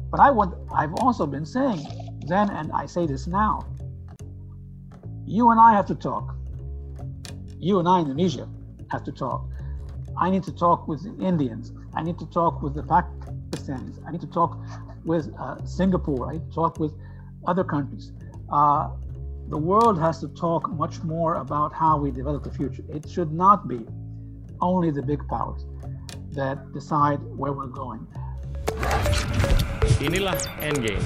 But I've also been saying then, and I say this now, you and I have to talk. You and I, Indonesia, have to talk. I need to talk with the Indians. I need to talk with the Pakistanis. I need to talk with Singapore. I need to talk with other countries. The world has to talk much more about how we develop the future. It should not be only the big powers that decide where we're going. Inilah Endgame.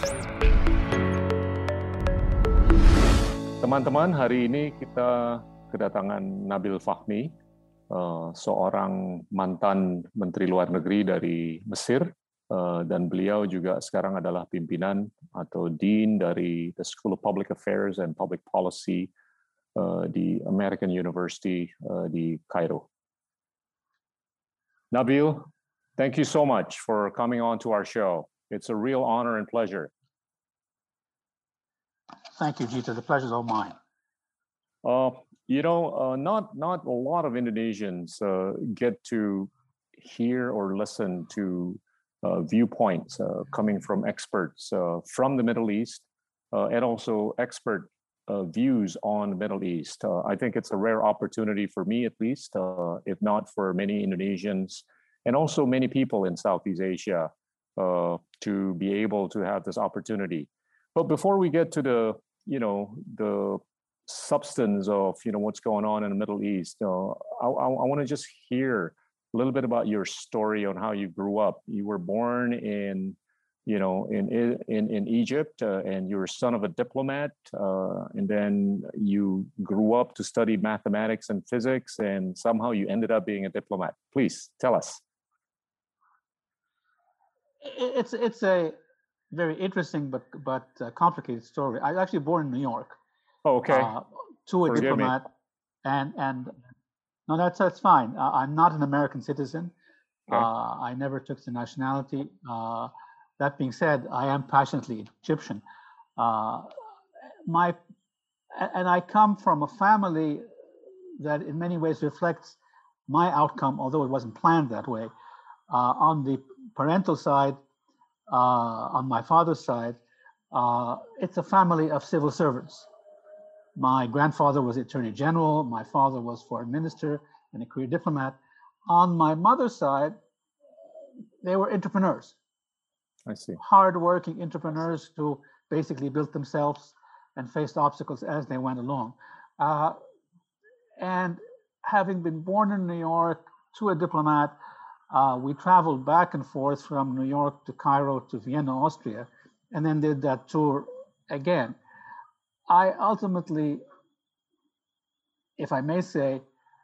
Teman-teman, hari ini kita kedatangan Nabil Fahmi, seorang mantan Menteri Luar Negeri dari Mesir, dan beliau juga sekarang adalah pimpinan atau Dean dari the School of Public Affairs and Public Policy di American University di Cairo. Nabil, thank you so much for coming on to our show. It's a real honor and pleasure. Thank you, Gita. The pleasure is all mine. Not a lot of Indonesians get to hear or listen to viewpoints coming from experts from the Middle East and also expert views on the Middle East. I think it's a rare opportunity for me, at least, if not for many Indonesians and also many people in Southeast Asia to be able to have this opportunity. But before we get to the substance of what's going on in the Middle East, I want to just hear a little bit about your story on how you grew up. You were born in Egypt, and you're son of a diplomat, and then you grew up to study mathematics and physics, and somehow you ended up being a diplomat. Please tell us. It's a very interesting but complicated story. I was actually born in New York. Oh, okay. To a Forgive diplomat, me. and no, that's fine. I'm not an American citizen. Okay. I never took the nationality. That being said, I am passionately Egyptian. And I come from a family that in many ways reflects my outcome, although it wasn't planned that way. On the parental side, on my father's side, it's a family of civil servants. My grandfather was Attorney General. My father was Foreign Minister and a career diplomat. On my mother's side, they were entrepreneurs. I see. Hardworking entrepreneurs who basically built themselves and faced obstacles as they went along. And having been born in New York to a diplomat, we traveled back and forth from New York to Cairo to Vienna, Austria, and then did that tour again. I ultimately, if I may say,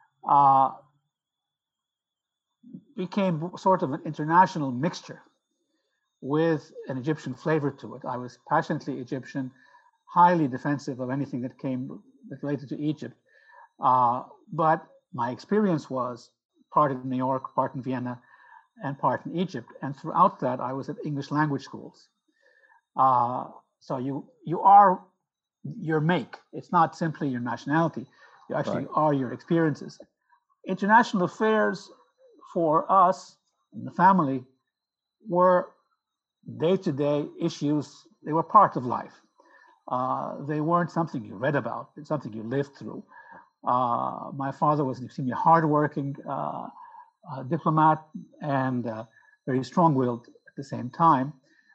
became sort of an international mixture with an Egyptian flavor to it. I was passionately Egyptian, highly defensive of anything that related to Egypt. But my experience was part in New York, part in Vienna, and part in Egypt. And throughout that, I was at English language schools. So you are your make. It's not simply your nationality. You actually are your experiences. International affairs for us in the family were day-to-day issues. They were part of life. They weren't something you read about. It's something you lived through. My father was an extremely hardworking diplomat and very strong-willed at the same time.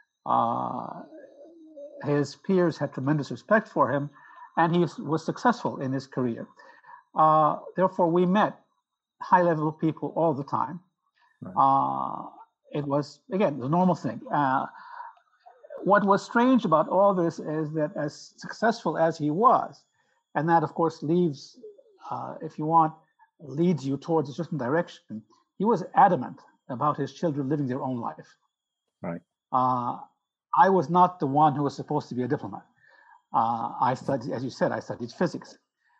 His peers had tremendous respect for him, and he was successful in his career. Therefore, we met high-level people all the time. Right. It was, again, the normal thing. What was strange about all this is that as successful as he was, and that, of course, leads you towards a certain direction, he was adamant about his children living their own life. Right. I was not the one who was supposed to be a diplomat. I studied, as you said, I studied physics.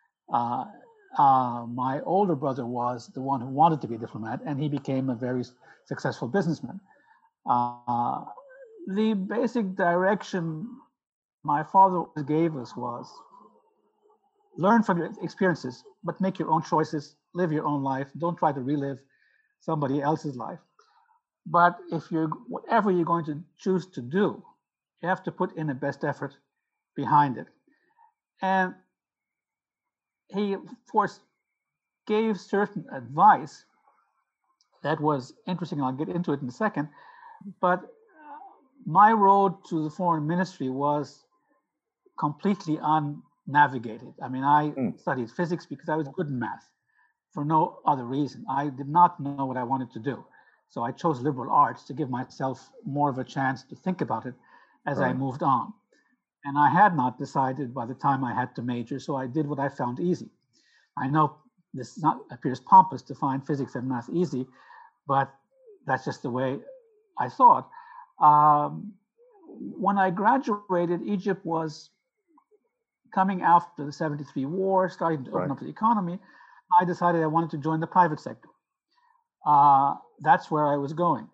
My older brother was the one who wanted to be a diplomat, and he became a very successful businessman. The basic direction my father gave us was learn from your experiences, but make your own choices, live your own life. Don't try to relive somebody else's life. But if you're, whatever you're going to choose to do, you have to put in the best effort behind it. And he, of course, gave certain advice that was interesting. I'll get into it in a second. But my road to the foreign ministry was completely unnavigated. I mean, I studied physics because I was good in math for no other reason. I did not know what I wanted to do. So I chose liberal arts to give myself more of a chance to think about it as I moved on. And I had not decided by the time I had to major, so I did what I found easy. I know this appears pompous to find physics and math easy, but that's just the way I thought. When I graduated, Egypt was coming after the 73 war, starting to open up the economy. I decided I wanted to join the private sector. That's where I was going.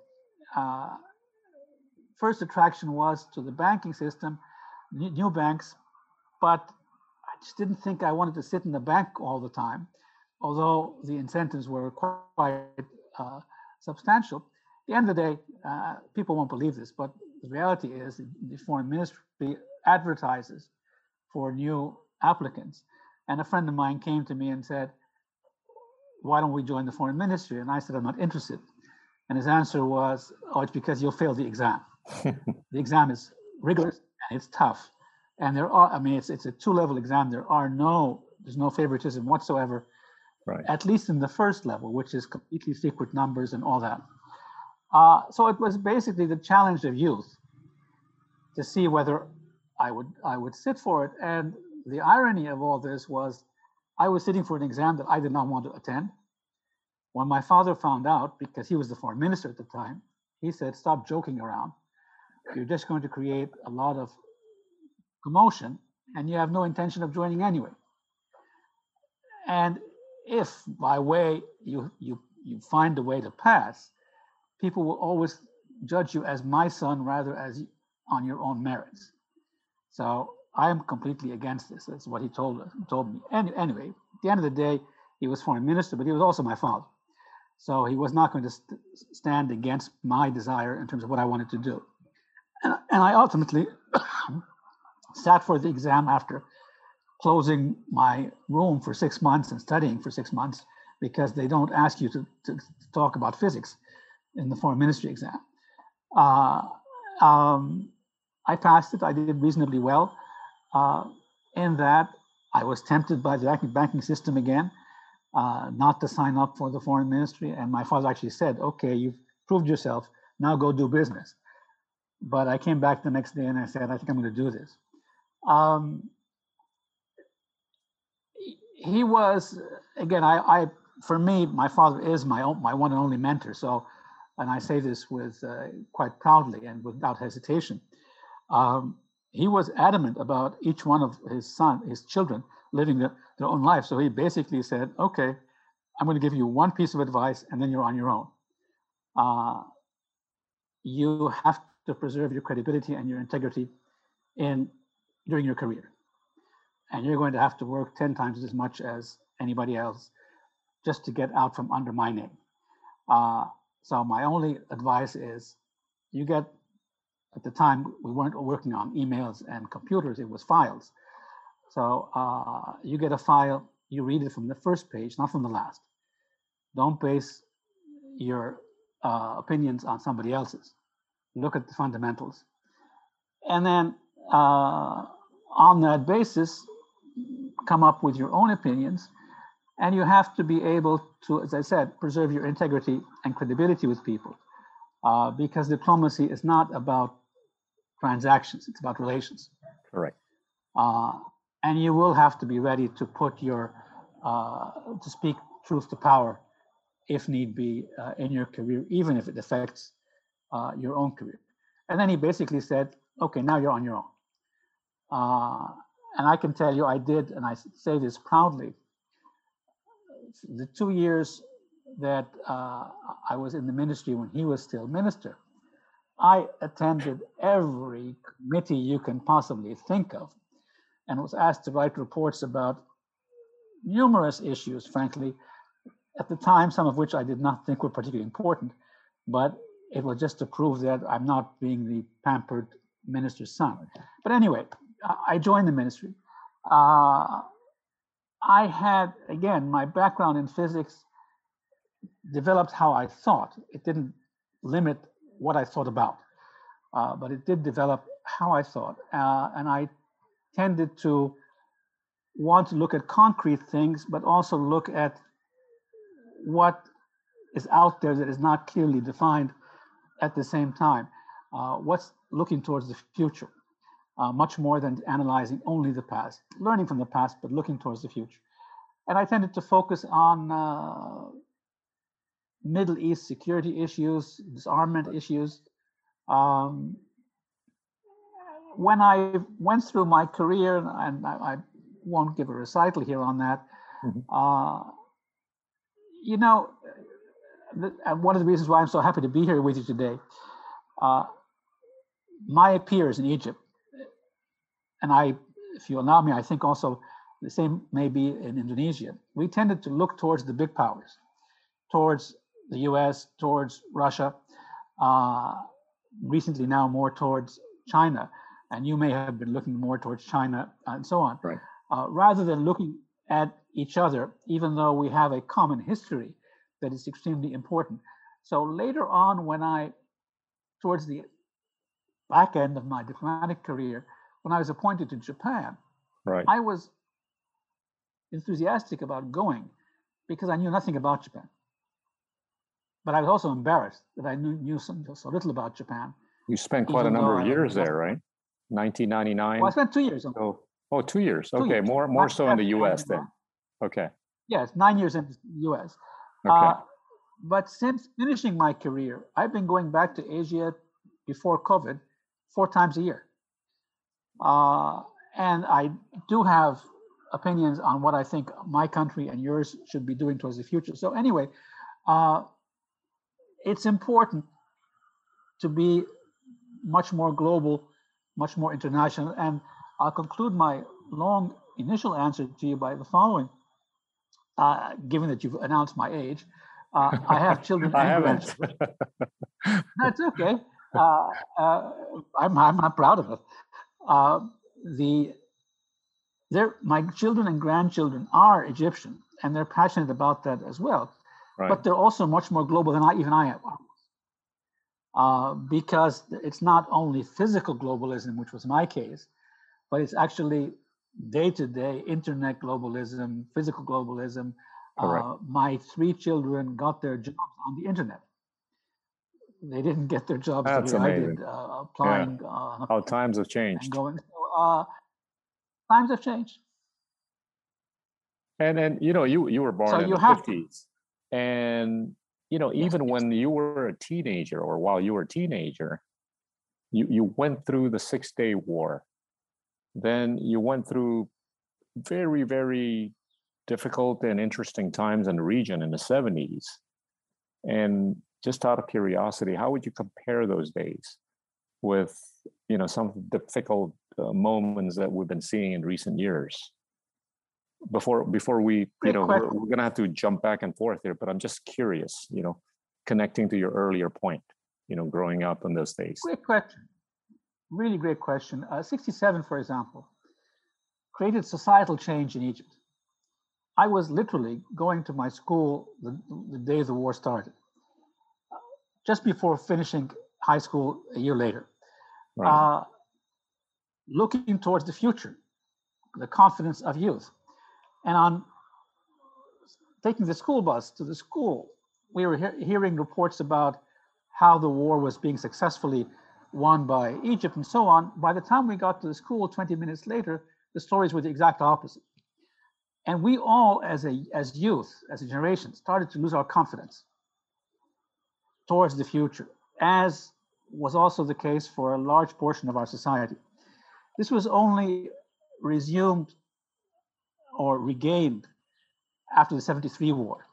First attraction was to the banking system, new banks, but I just didn't think I wanted to sit in the bank all the time, although the incentives were quite substantial. At the end of the day, people won't believe this, but the reality is the foreign ministry advertises for new applicants. And a friend of mine came to me and said, why don't we join the foreign ministry? And I said, I'm not interested. And his answer was, oh, it's because you'll fail the exam. The exam is rigorous and it's tough. And there are, I mean, it's a 2-level exam. There's no favoritism whatsoever, at least in the first level, which is completely secret numbers and all that. So it was basically the challenge of youth to see whether I would sit for it. And the irony of all this was I was sitting for an exam that I did not want to attend. When my father found out, because he was the foreign minister at the time, he said, stop joking around. You're just going to create a lot of commotion and you have no intention of joining anyway. And if by way you find a way to pass, people will always judge you as my son rather as on your own merits. So I am completely against this. That's what he told me. Anyway, at the end of the day, he was foreign minister, but he was also my father. So he was not going to stand against my desire in terms of what I wanted to do. And I ultimately sat for the exam after closing my room for 6 months and studying for 6 months, because they don't ask you to talk about physics in the foreign ministry exam. I passed it. I did reasonably well in that I was tempted by the banking system again, not to sign up for the foreign ministry. And my father actually said, okay, you've proved yourself, now go do business. But I came back the next day and I said, I think I'm going to do this. He was, again, for me, my father is my one and only mentor. So, and I say this with quite proudly and without hesitation. He was adamant about each one of his children living their own life. So he basically said, okay, I'm going to give you one piece of advice and then you're on your own. You have to preserve your credibility and your integrity during your career. And you're going to have to work 10 times as much as anybody else just to get out from under my name. So my only advice is at the time, we weren't working on emails and computers, it was files. So you get a file, you read it from the first page, not from the last. Don't base your opinions on somebody else's. Look at the fundamentals. And then on that basis, come up with your own opinions. And you have to be able to, as I said, preserve your integrity and credibility with people. Because diplomacy is not about transactions, it's about relations. Correct. And you will have to be ready to put to speak truth to power if need be in your career, even if it affects your own career. And then he basically said, okay, now you're on your own. And I can tell you, I did, and I say this proudly, the 2 years that I was in the ministry when he was still minister, I attended every committee you can possibly think of and was asked to write reports about numerous issues, frankly, at the time, some of which I did not think were particularly important, but it was just to prove that I'm not being the pampered minister's son. But anyway, I joined the ministry. I had, again, my background in physics developed how I thought. It didn't limit what I thought about, but it did develop how I thought. And I tended to want to look at concrete things, but also look at what is out there that is not clearly defined at the same time. What's looking towards the future, much more than analyzing only the past, learning from the past, but looking towards the future. And I tended to focus on Middle East security issues, disarmament issues. When I went through my career, and I won't give a recital here on that, you know, one of the reasons why I'm so happy to be here with you today, my peers in Egypt, and I, if you allow me, I think also the same may be in Indonesia, we tended to look towards the big powers, towards the US, towards Russia, recently now more towards China, and you may have been looking more towards China and so on, right. Rather than looking at each other, even though we have a common history that is extremely important. So later on, towards the back end of my diplomatic career, when I was appointed to Japan, right. I was enthusiastic about going because I knew nothing about Japan. But I was also embarrassed that I knew so little about Japan. You spent quite a number of years there, right? 1999? Well, I spent 2 years. Oh, 2 years. 2 Okay, years. more so in the US then. Okay. Yes, 9 years in the US. Okay. But since finishing my career, I've been going back to Asia before COVID 4 times a year. And I do have opinions on what I think my country and yours should be doing towards the future. So anyway, it's important to be much more global, much more international. And I'll conclude my long initial answer to you by the following. Given that you've announced my age, I have children and grandchildren. That's okay. I'm not proud of it. My children and grandchildren are Egyptian, and they're passionate about that as well. Right. But they're also much more global than I am. Because it's not only physical globalism, which was my case, but it's actually day-to-day internet globalism, physical globalism. My 3 children got their jobs on the internet. They didn't get their jobs the way I did, applying. Yeah. How times have changed. And going. So, times have changed. And you know, you were born in the 50s, and you know, even when you were a teenager, or while you were a teenager, you went through the 6-day war. Then you went through very, very difficult and interesting times in the region in the 70s. And just out of curiosity, how would you compare those days with, you know, some difficult moments that we've been seeing in recent years? Before we, you know, we're going to have to jump back and forth here, but I'm just curious, you know, connecting to your earlier point, you know, growing up in those days. Great question. Really great question. 67, for example, created societal change in Egypt. I was literally going to my school the day the war started, just before finishing high school a year later. Right. Looking towards the future, the confidence of youth. And on taking the school bus to the school, we were hearing reports about how the war was being successfully won by Egypt and so on. By the time we got to the school 20 minutes later, the stories were the exact opposite. And we all, as youth, as a generation, started to lose our confidence towards the future, as was also the case for a large portion of our society. This was only resumed or regained after the 73 war.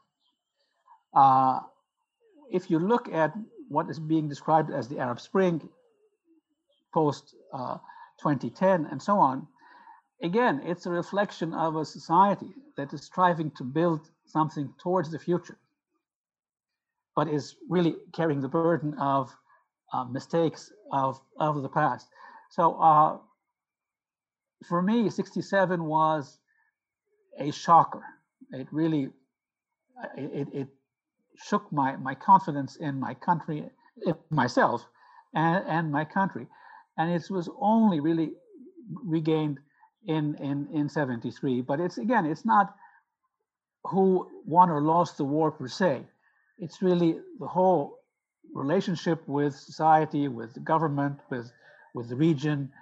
If you look at what is being described as the Arab Spring, post 2010 and so on, again, it's a reflection of a society that is striving to build something towards the future. but is really carrying the burden of mistakes of the past. So for me, 67 was a shocker. It really, it shook my confidence in my country, in myself, and my country. And it was only really regained in 73. But it's, again, it's not who won or lost the war per se. It's really the whole relationship with society, with the government, with the region,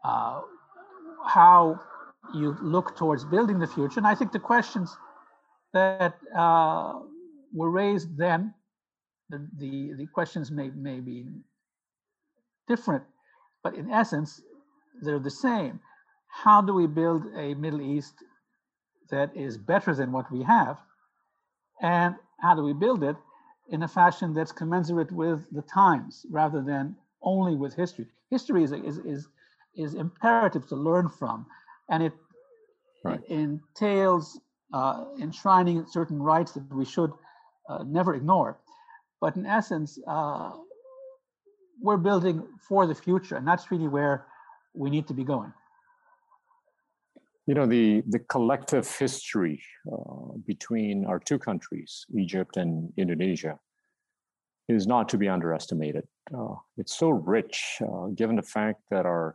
how you look towards building the future. And I think the questions that were raised then, the questions may be different, but in essence, they're the same. How do we build a Middle East that is better than what we have? And how do we build it in a fashion that's commensurate with the times rather than only with history? History is imperative to learn from, and it entails enshrining certain rights that we should never ignore. But in essence, we're building for the future, and that's really where we need to be going. You know, the collective history between our two countries, Egypt and Indonesia, is not to be underestimated. It's so rich, given the fact that our,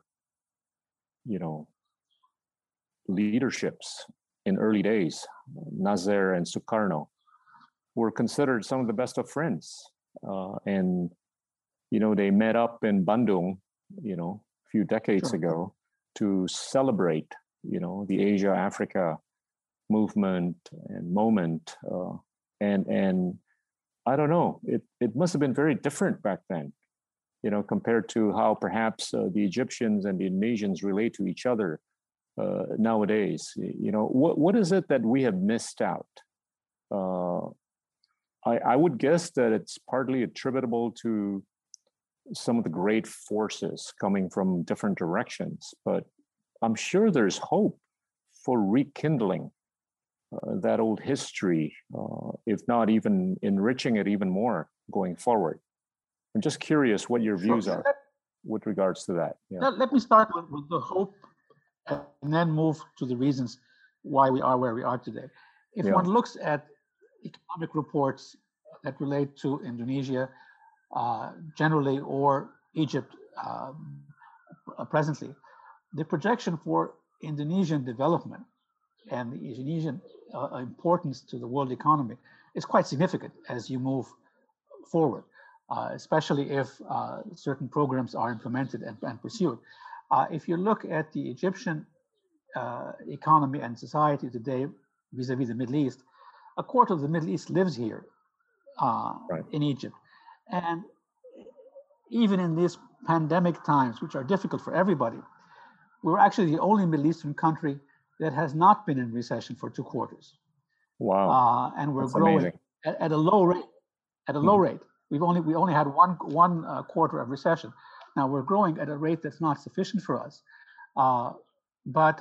leaderships in early days, Nasser and Sukarno, were considered some of the best of friends. And, they met up in Bandung, a few decades ago to celebrate, the Asia-Africa movement and moment. And I don't know, it must have been very different back then, compared to how perhaps the Egyptians and the Indonesians relate to each other nowadays. What is it that we have missed out? I would guess that it's partly attributable to some of the great forces coming from different directions, but I'm sure there's hope for rekindling that old history, if not even enriching it even more going forward. I'm just curious what your views are with regards to that. Yeah. Let me start with the hope and then move to the reasons why we are where we are today. If one looks at economic reports that relate to Indonesia generally or Egypt presently, the projection for Indonesian development and the Indonesian importance to the world economy is quite significant as you move forward, especially if certain programs are implemented and pursued. If you look at the Egyptian economy and society today vis-a-vis the Middle East, a quarter of the Middle East lives here in Egypt. And even in these pandemic times, which are difficult for everybody, we're actually the only Middle Eastern country that has not been in recession for 2 quarters. Wow! And we're growing at a low rate. At a low rate, we only had one quarter of recession. Now we're growing at a rate that's not sufficient for us. But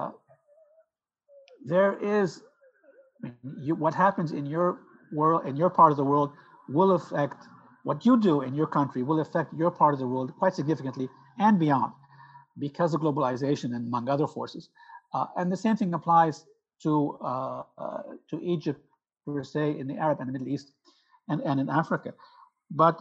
there is what happens in your world, in your part of the world, will affect what you do in your country. Will affect your part of the world quite significantly and beyond, because of globalization and among other forces. And the same thing applies to Egypt per se, in the Arab and the Middle East, and in Africa. But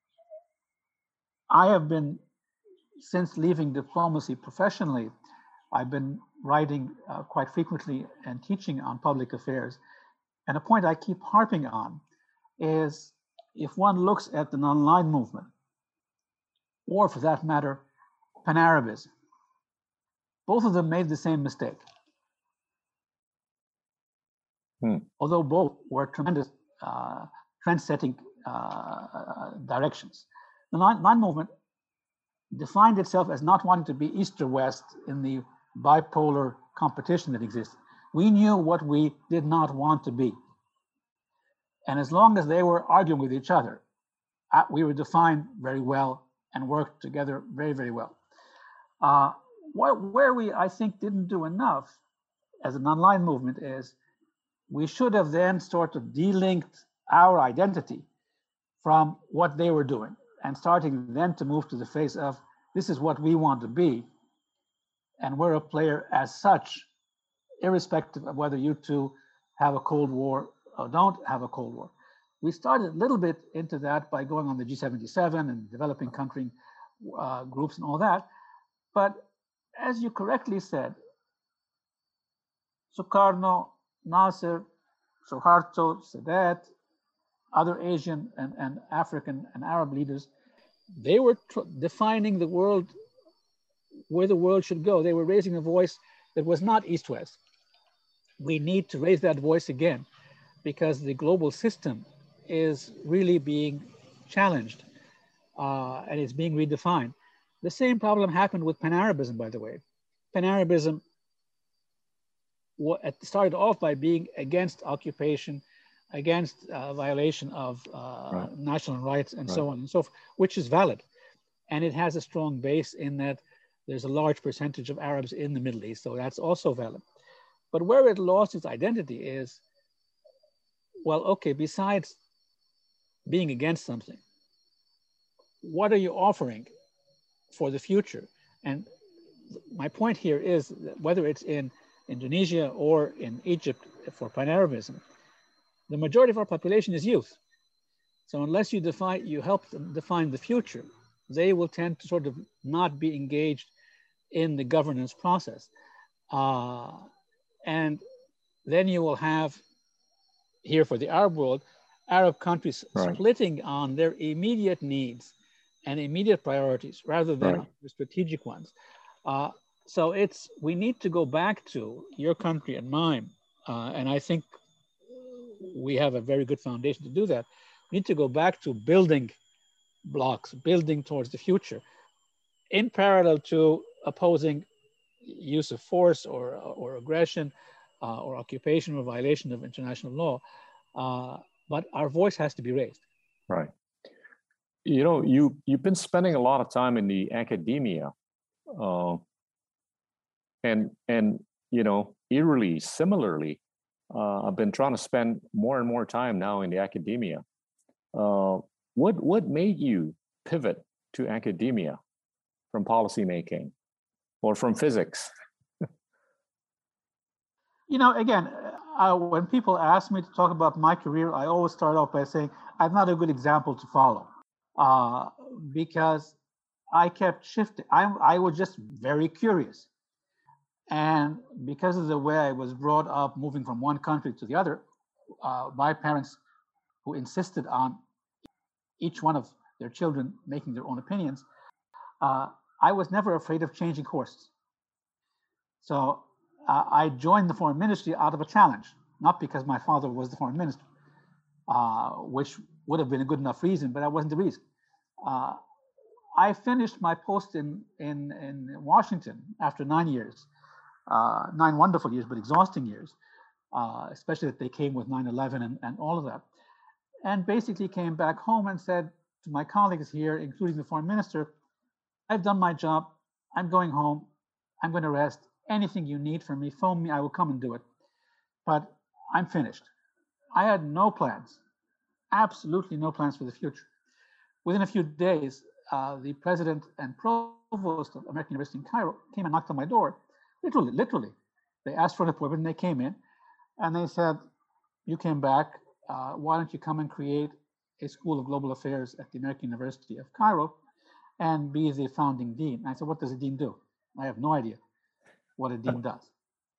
I have been, since leaving diplomacy professionally, I've been writing quite frequently and teaching on public affairs. And a point I keep harping on is, if one looks at the non-aligned movement, or for that matter, Pan-Arabism, both of them made the same mistake. Although both were tremendous trend-setting directions. The non movement defined itself as not wanting to be East or West in the bipolar competition that exists. We knew what we did not want to be. And as long as they were arguing with each other, we were defined very well and worked together very, very well. Where we, I think, didn't do enough as a non-aligned movement is we should have then sort of delinked our identity from what they were doing and starting then to move to the phase of this is what we want to be. And we're a player as such, irrespective of whether you two have a Cold War or don't have a Cold War. We started a little bit into that by going on the G77 and developing country groups and all that. But as you correctly said, Sukarno, Nasser, Suharto, Sadat, other Asian and African and Arab leaders, they were defining the world, where the world should go. They were raising a voice that was not East-West. We need to raise that voice again because the global system is really being challenged and it's being redefined. The same problem happened with Pan-Arabism, by the way. Pan-Arabism started off by being against occupation, against violation of national rights and so on and so forth, which is valid. And it has a strong base in that there's a large percentage of Arabs in the Middle East, so that's also valid. But where it lost its identity is, well, okay, besides being against something, what are you offering for the future? And my point here is that whether it's in Indonesia or in Egypt for Pan-Arabism, the majority of our population is youth. So unless you help them define the future, they will tend to sort of not be engaged in the governance process. And then you will have, here for the Arab world, Arab countries splitting on their immediate needs and immediate priorities rather than the strategic ones. So we need to go back to your country and mine. And I think we have a very good foundation to do that. We need to go back to building blocks, building towards the future, in parallel to opposing use of force or aggression or occupation or violation of international law. But our voice has to be raised. Right. You know, you've been spending a lot of time in the academia, and you know, eerily, similarly, I've been trying to spend more and more time now in the academia. What made you pivot to academia from policymaking or from physics? You know, again, when people ask me to talk about my career, I always start off by saying I'm not a good example to follow because I kept shifting. I was just very curious. And because of the way I was brought up, moving from one country to the other, my parents, who insisted on each one of their children making their own opinions, I was never afraid of changing courses. So I joined the foreign ministry out of a challenge, not because my father was the foreign minister, which would have been a good enough reason, but that wasn't the reason. I finished my post in Washington after 9 years, 9 wonderful years, but exhausting years, especially that they came with 9/11 and all of that. And basically came back home and said to my colleagues here, including the foreign minister, I've done my job. I'm going home. I'm going to rest. Anything you need from me, phone me. I will come and do it. But I'm finished. I had no plans, absolutely no plans for the future. Within a few days, the president and provost of American University in Cairo came and knocked on my door. Literally. They asked for an appointment and they came in and they said, you came back, why don't you come and create a School of Global Affairs at the American University of Cairo and be the founding dean? And I said, what does a dean do? I have no idea what a dean does.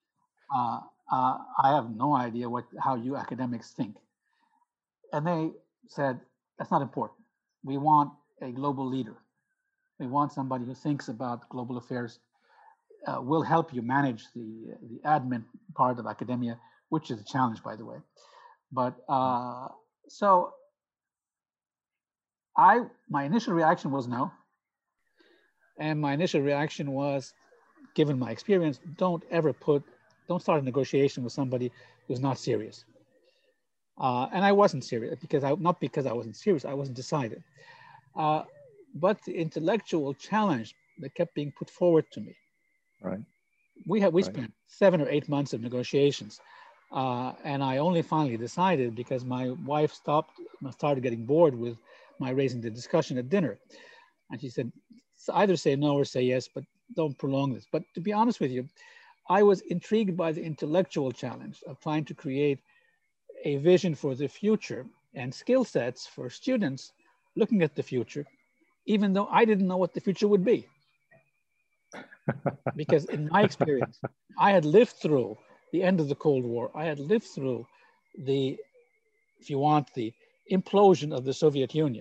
I have no idea how you academics think. And they said, that's not important. We want a global leader. We want somebody who thinks about global affairs, will help you manage the admin part of academia, which is a challenge, by the way. But so my initial reaction was no. And my initial reaction was, given my experience, don't start a negotiation with somebody who's not serious. And I wasn't serious not because I wasn't serious, I wasn't decided. But the intellectual challenge that kept being put forward to me. Right. We spent 7 or 8 months of negotiations. And I only finally decided because my wife started getting bored with my raising the discussion at dinner. And she said, either say no or say yes, but don't prolong this. But to be honest with you, I was intrigued by the intellectual challenge of trying to create a vision for the future and skill sets for students looking at the future, even though I didn't know what the future would be. Because in my experience, I had lived through the end of the Cold War. I had lived through the, if you want, the implosion of the Soviet Union.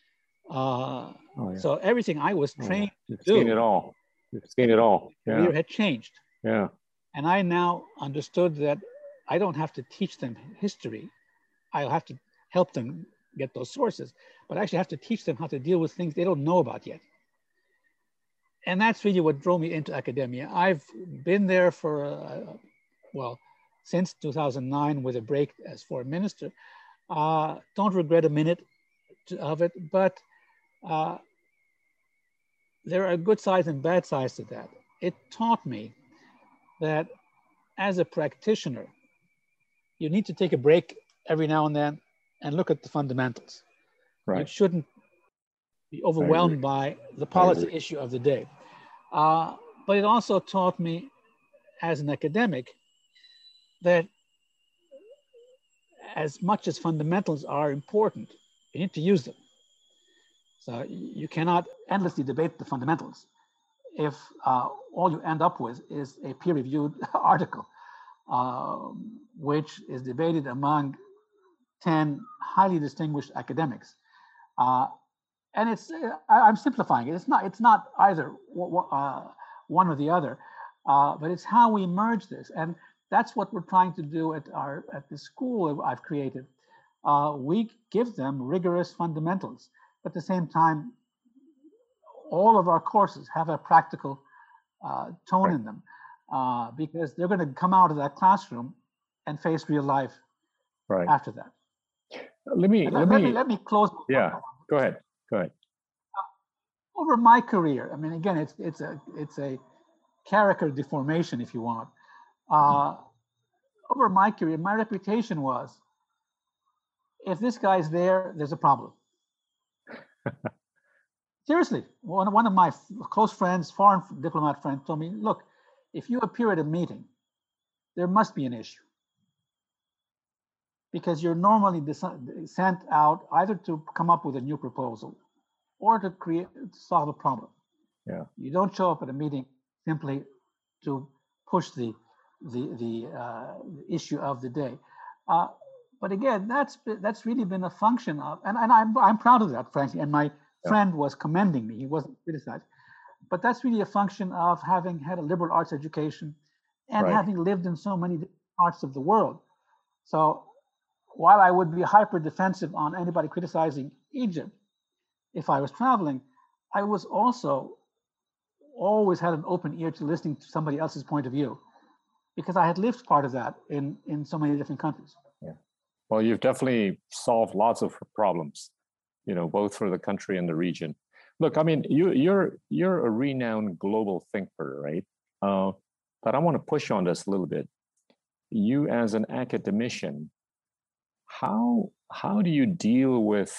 So everything I was trained to do. You've seen it all. You've seen it all. Career had changed. Yeah. And I now understood that I don't have to teach them history. I'll have to help them get those sources, but I actually have to teach them how to deal with things they don't know about yet. And that's really what drove me into academia. I've been there for, well, since 2009 with a break as foreign minister. Don't regret a minute of it, but there are good sides and bad sides to that. It taught me that as a practitioner, you need to take a break every now and then and look at the fundamentals. Right. You shouldn't be overwhelmed by the policy issue of the day. But it also taught me as an academic that as much as fundamentals are important, you need to use them. So you cannot endlessly debate the fundamentals if all you end up with is a peer-reviewed article, which is debated among 10 highly distinguished academics. And it's, I'm simplifying it. It's not either one or the other, but it's how we merge this. And that's what we're trying to do at the school I've created. We give them rigorous fundamentals, but at the same time, all of our courses have a practical tone in them, because they're going to come out of that classroom and face real life after that. Let me close. Yeah, go ahead. Over my career, I mean, again, it's a character deformation, if you want. Over my career, my reputation was, if this guy's there, there's a problem. Seriously, one of my close friends, foreign diplomat friend, told me, look, if you appear at a meeting, there must be an issue. Because you're normally sent out either to come up with a new proposal or to solve a problem. Yeah. You don't show up at a meeting simply to push the issue of the day. But again, that's really been a function of, and I'm proud of that, frankly. And my friend was commending me; he wasn't criticized. But that's really a function of having had a liberal arts education and having lived in so many parts of the world. So while I would be hyper defensive on anybody criticizing Egypt, if I was traveling, I was also always had an open ear to listening to somebody else's point of view, because I had lived part of that in so many different countries. Yeah. Well, you've definitely solved lots of problems, both for the country and the region. Look, I mean, you're a renowned global thinker, right? But I want to push on this a little bit. You as an academician, how do you deal with,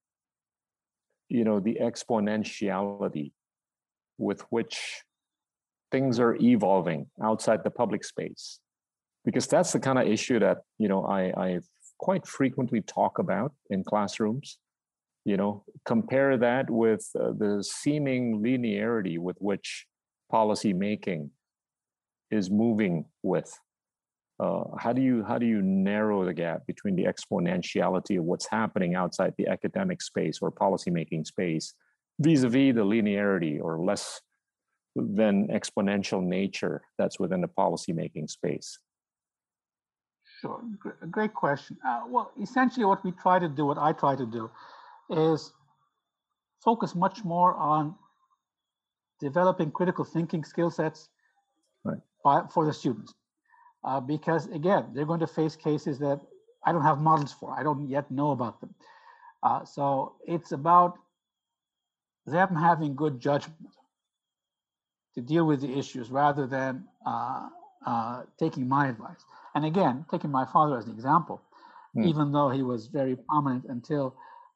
the exponentiality with which things are evolving outside the public space? Because that's the kind of issue that, I quite frequently talk about in classrooms. Compare that with the seeming linearity with which policy making is moving with. How do you narrow the gap between the exponentiality of what's happening outside the academic space or policymaking space vis-a-vis the linearity or less than exponential nature that's within the policymaking space? Sure, great question. Well, essentially what I try to do is focus much more on developing critical thinking skill sets for the students. Because again, they're going to face cases that I don't have models for. I don't yet know about them. So it's about them having good judgment to deal with the issues rather than taking my advice. And again, taking my father as an example, even though he was very prominent until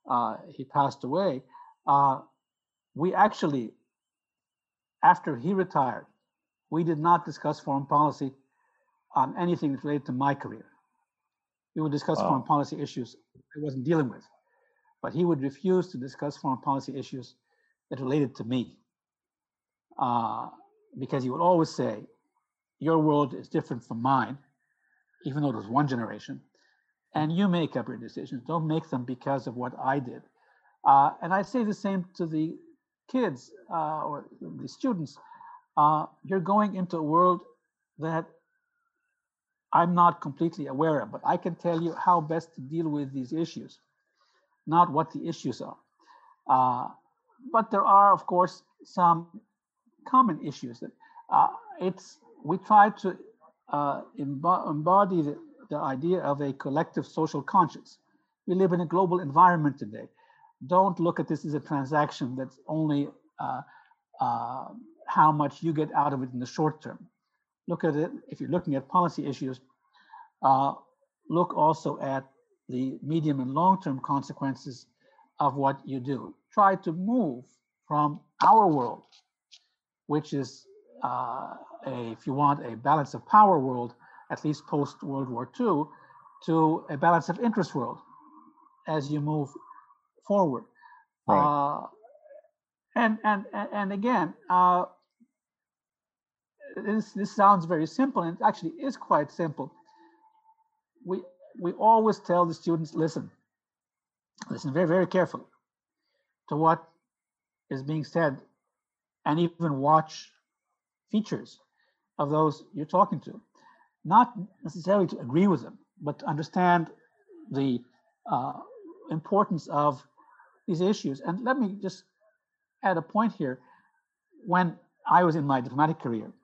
he passed away. We actually, after he retired, we did not discuss foreign policy on anything that related to my career. We would discuss foreign policy issues I wasn't dealing with, but he would refuse to discuss foreign policy issues that related to me, because he would always say, your world is different from mine, even though it was one generation, and you make up your decisions. Don't make them because of what I did. And I say the same to the kids or the students. You're going into a world that I'm not completely aware of, but I can tell you how best to deal with these issues, not what the issues are. But there are, of course, some common issues that we try to embody the idea of a collective social conscience. We live in a global environment today. Don't look at this as a transaction that's only how much you get out of it in the short term. Look at it, if you're looking at policy issues, look also at the medium and long-term consequences of what you do. Try to move from our world, which is, if you want, a balance of power world, at least post World War II, to a balance of interest world as you move forward. Right. And again, this sounds very simple, and it actually is quite simple. We always tell the students, listen very, very carefully to what is being said, and even watch features of those you're talking to. Not necessarily to agree with them, but to understand the importance of these issues. And let me just add a point here. When I was in my diplomatic career,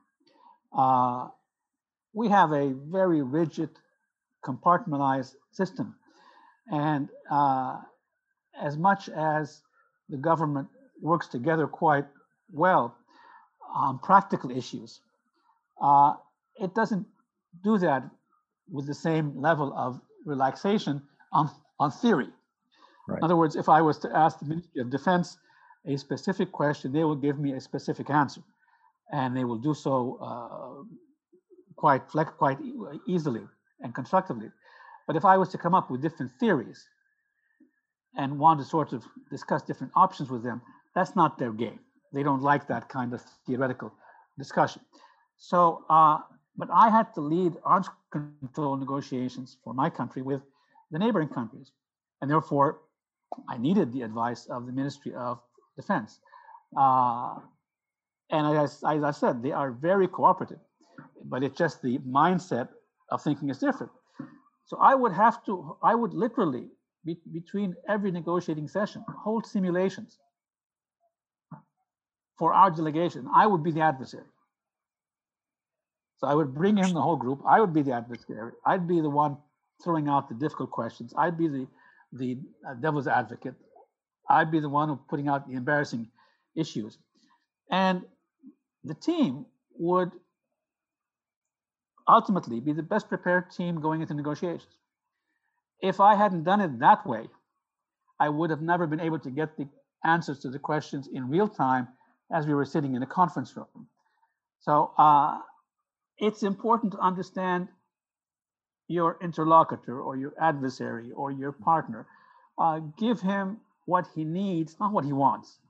we have a very rigid, compartmentalized system. And as much as the government works together quite well on practical issues, it doesn't do that with the same level of relaxation on theory. Right. In other words, if I was to ask the Ministry of Defense a specific question, they will give me a specific answer, and they will do so quite easily and constructively. But if I was to come up with different theories and want to sort of discuss different options with them, that's not their game. They don't like that kind of theoretical discussion. So, but I had to lead arms control negotiations for my country with the neighboring countries. And therefore, I needed the advice of the Ministry of Defense. And as I said, they are very cooperative, but it's just the mindset of thinking is different. So I would literally, between every negotiating session, hold simulations for our delegation. I would be the adversary. So I would bring in the whole group. I would be the adversary. I'd be the one throwing out the difficult questions. I'd be the devil's advocate. I'd be the one putting out the embarrassing issues. And the team would ultimately be the best prepared team going into negotiations. If I hadn't done it that way, I would have never been able to get the answers to the questions in real time as we were sitting in a conference room. So it's important to understand your interlocutor or your adversary or your partner. Give him what he needs, not what he wants.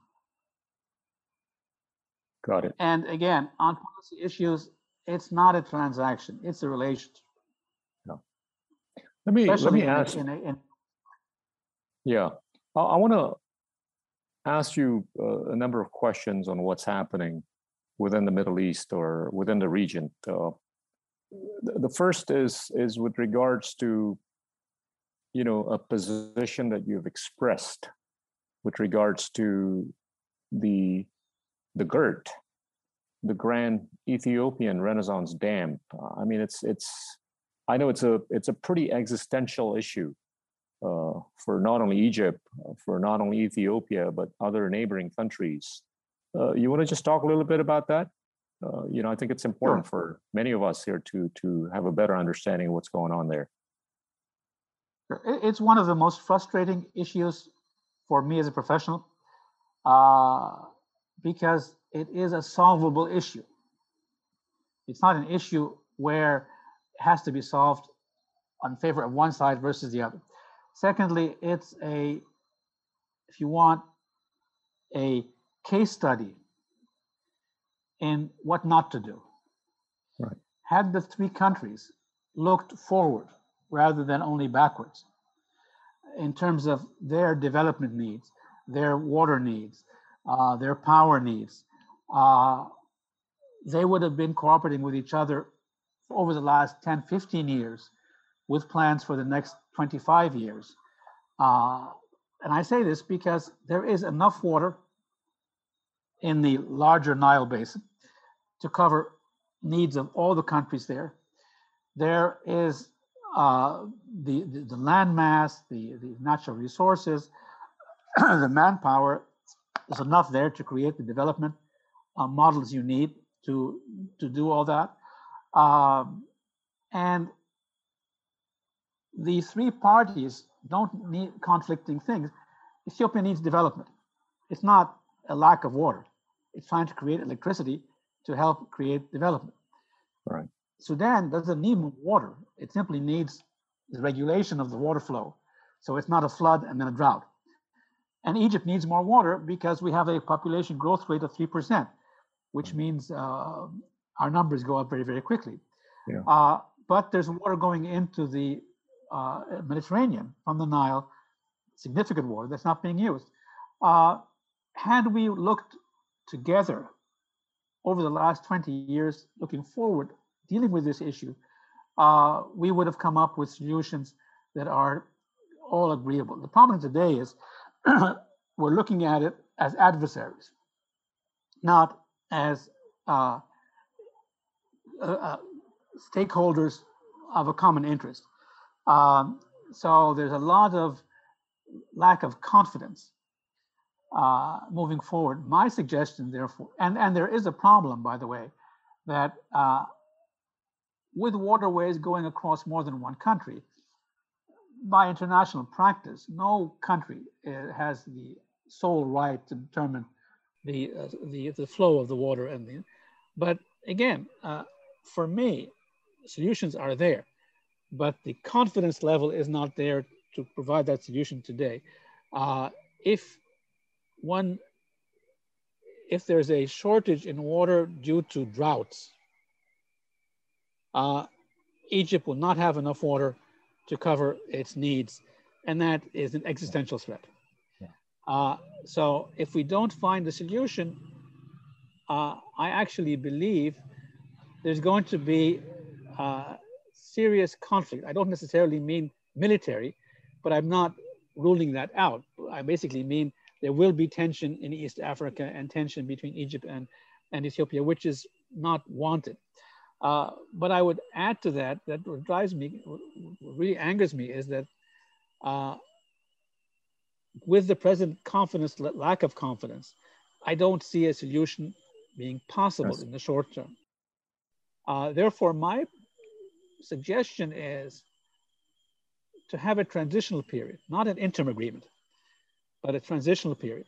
Got it. And again, on policy issues, it's not a transaction, it's a relationship. No. Let me ask. Yeah, I want to ask you a number of questions on what's happening within the Middle East or within the region. The first is with regards to, a position that you've expressed with regards to the GERD, the Grand Ethiopian Renaissance Dam. I mean, I know it's a pretty existential issue for not only Egypt, for not only Ethiopia, but other neighboring countries. You want to just talk a little bit about that? I think it's important for many of us here to have a better understanding of what's going on there. It's one of the most frustrating issues for me as a professional, uh, because it is a solvable issue. It's not an issue where it has to be solved on favor of one side versus the other. Secondly, it's a, if you want, a case study in what not to do. Right. Had the three countries looked forward rather than only backwards in terms of their development needs, their water needs, their power needs, they would have been cooperating with each other over the last 10, 15 years with plans for the next 25 years. And I say this because there is enough water in the larger Nile Basin to cover needs of all the countries there. There is the land mass, the natural resources, the manpower. There's enough there to create the development models you need to do all that. And the three parties don't need conflicting things. Ethiopia needs development. It's not a lack of water. It's trying to create electricity to help create development. Right. Sudan doesn't need more water. It simply needs the regulation of the water flow. So it's not a flood and then a drought. And Egypt needs more water because we have a population growth rate of 3%, which means our numbers go up very, very quickly. Yeah. But there's water going into the Mediterranean from the Nile, significant water that's not being used. Had we looked together over the last 20 years, looking forward, dealing with this issue, we would have come up with solutions that are all agreeable. The problem today is we're looking at it as adversaries, not as stakeholders of a common interest. So there's a lot of lack of confidence moving forward. My suggestion, therefore, and there is a problem, by the way, that with waterways going across more than one country, by international practice, no country has the sole right to determine the flow of the water but again, for me, solutions are there, but the confidence level is not there to provide that solution today. If there's a shortage in water due to droughts, Egypt will not have enough water to cover its needs, and that is an existential threat. Yeah. So if we don't find a solution, I actually believe there's going to be serious conflict. I don't necessarily mean military, but I'm not ruling that out. I basically mean there will be tension in East Africa and tension between Egypt and Ethiopia, which is not wanted. But I would add to that, that what drives me, what really angers me is that with the present confidence, lack of confidence, I don't see a solution being possible in the short term. Therefore, my suggestion is to have a transitional period, not an interim agreement, but a transitional period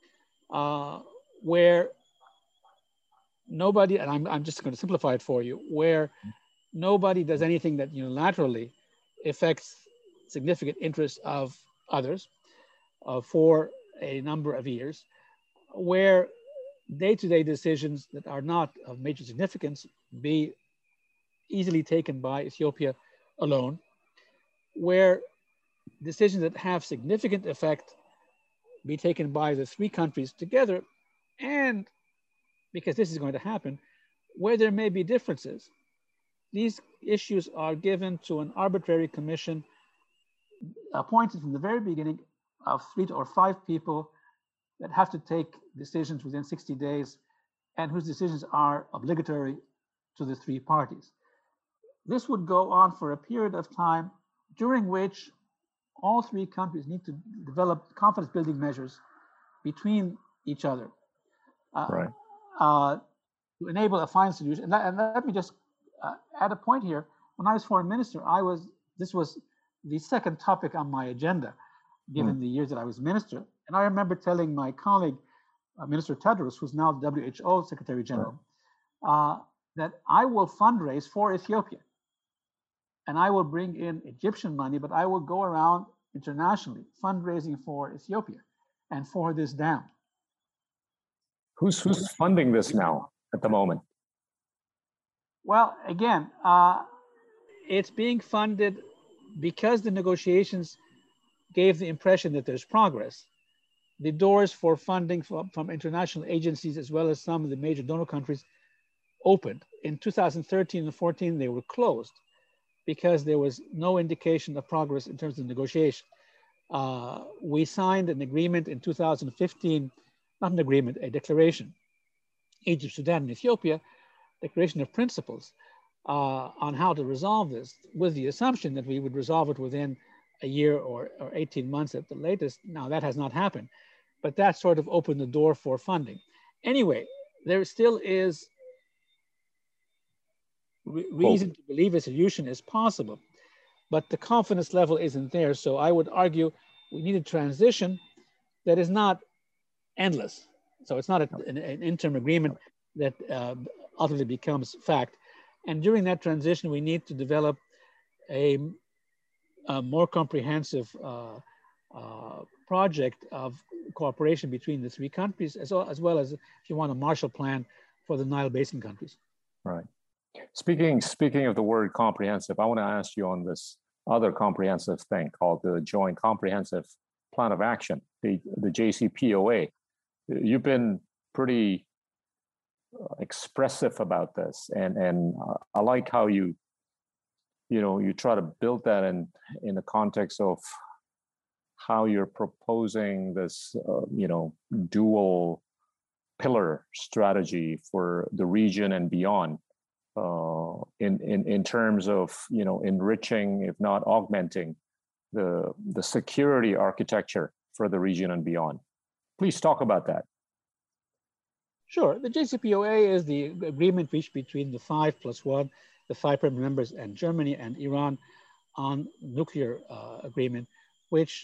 where nobody, and I'm just going to simplify it for you, where nobody does anything that unilaterally affects significant interests of others for a number of years, where day-to-day decisions that are not of major significance be easily taken by Ethiopia alone, where decisions that have significant effect be taken by the three countries together, and because this is going to happen, where there may be differences, these issues are given to an arbitrary commission appointed from the very beginning of 3 or 5 people that have to take decisions within 60 days and whose decisions are obligatory to the three parties. This would go on for a period of time during which all three countries need to develop confidence building measures between each other to enable a final solution. And let me just add a point here. When I was foreign minister, this was the second topic on my agenda, given the years that I was minister. And I remember telling my colleague, Minister Tedros, who's now the WHO Secretary General, that I will fundraise for Ethiopia. And I will bring in Egyptian money, but I will go around internationally fundraising for Ethiopia and for this dam. Who's funding this now at the moment? Well, again, it's being funded because the negotiations gave the impression that there's progress. The doors for funding from international agencies, as well as some of the major donor countries, opened. In 2013 and 14, they were closed because there was no indication of progress in terms of negotiation. We signed an agreement in 2015, not an agreement, a declaration, Egypt, Sudan, and Ethiopia, declaration of principles on how to resolve this, with the assumption that we would resolve it within a year or 18 months at the latest. Now that has not happened, but that sort of opened the door for funding. Anyway, there still is reason to believe a solution is possible, but the confidence level isn't there. So I would argue we need a transition that is not endless. So it's not an interim agreement that ultimately becomes fact. And during that transition, we need to develop a more comprehensive project of cooperation between the three countries, as well as, if you want, a Marshall Plan for the Nile Basin countries. Right. Speaking of the word comprehensive, I want to ask you on this other comprehensive thing called the Joint Comprehensive Plan of Action, the JCPOA. You've been pretty expressive about this, and I like how you try to build that in the context of how you're proposing this dual pillar strategy for the region and beyond, in terms of enriching, if not augmenting, the security architecture for the region and beyond. Please talk about that. Sure. The JCPOA is the agreement reached between the 5+1, the 5 permanent members, and Germany and Iran on nuclear agreement, which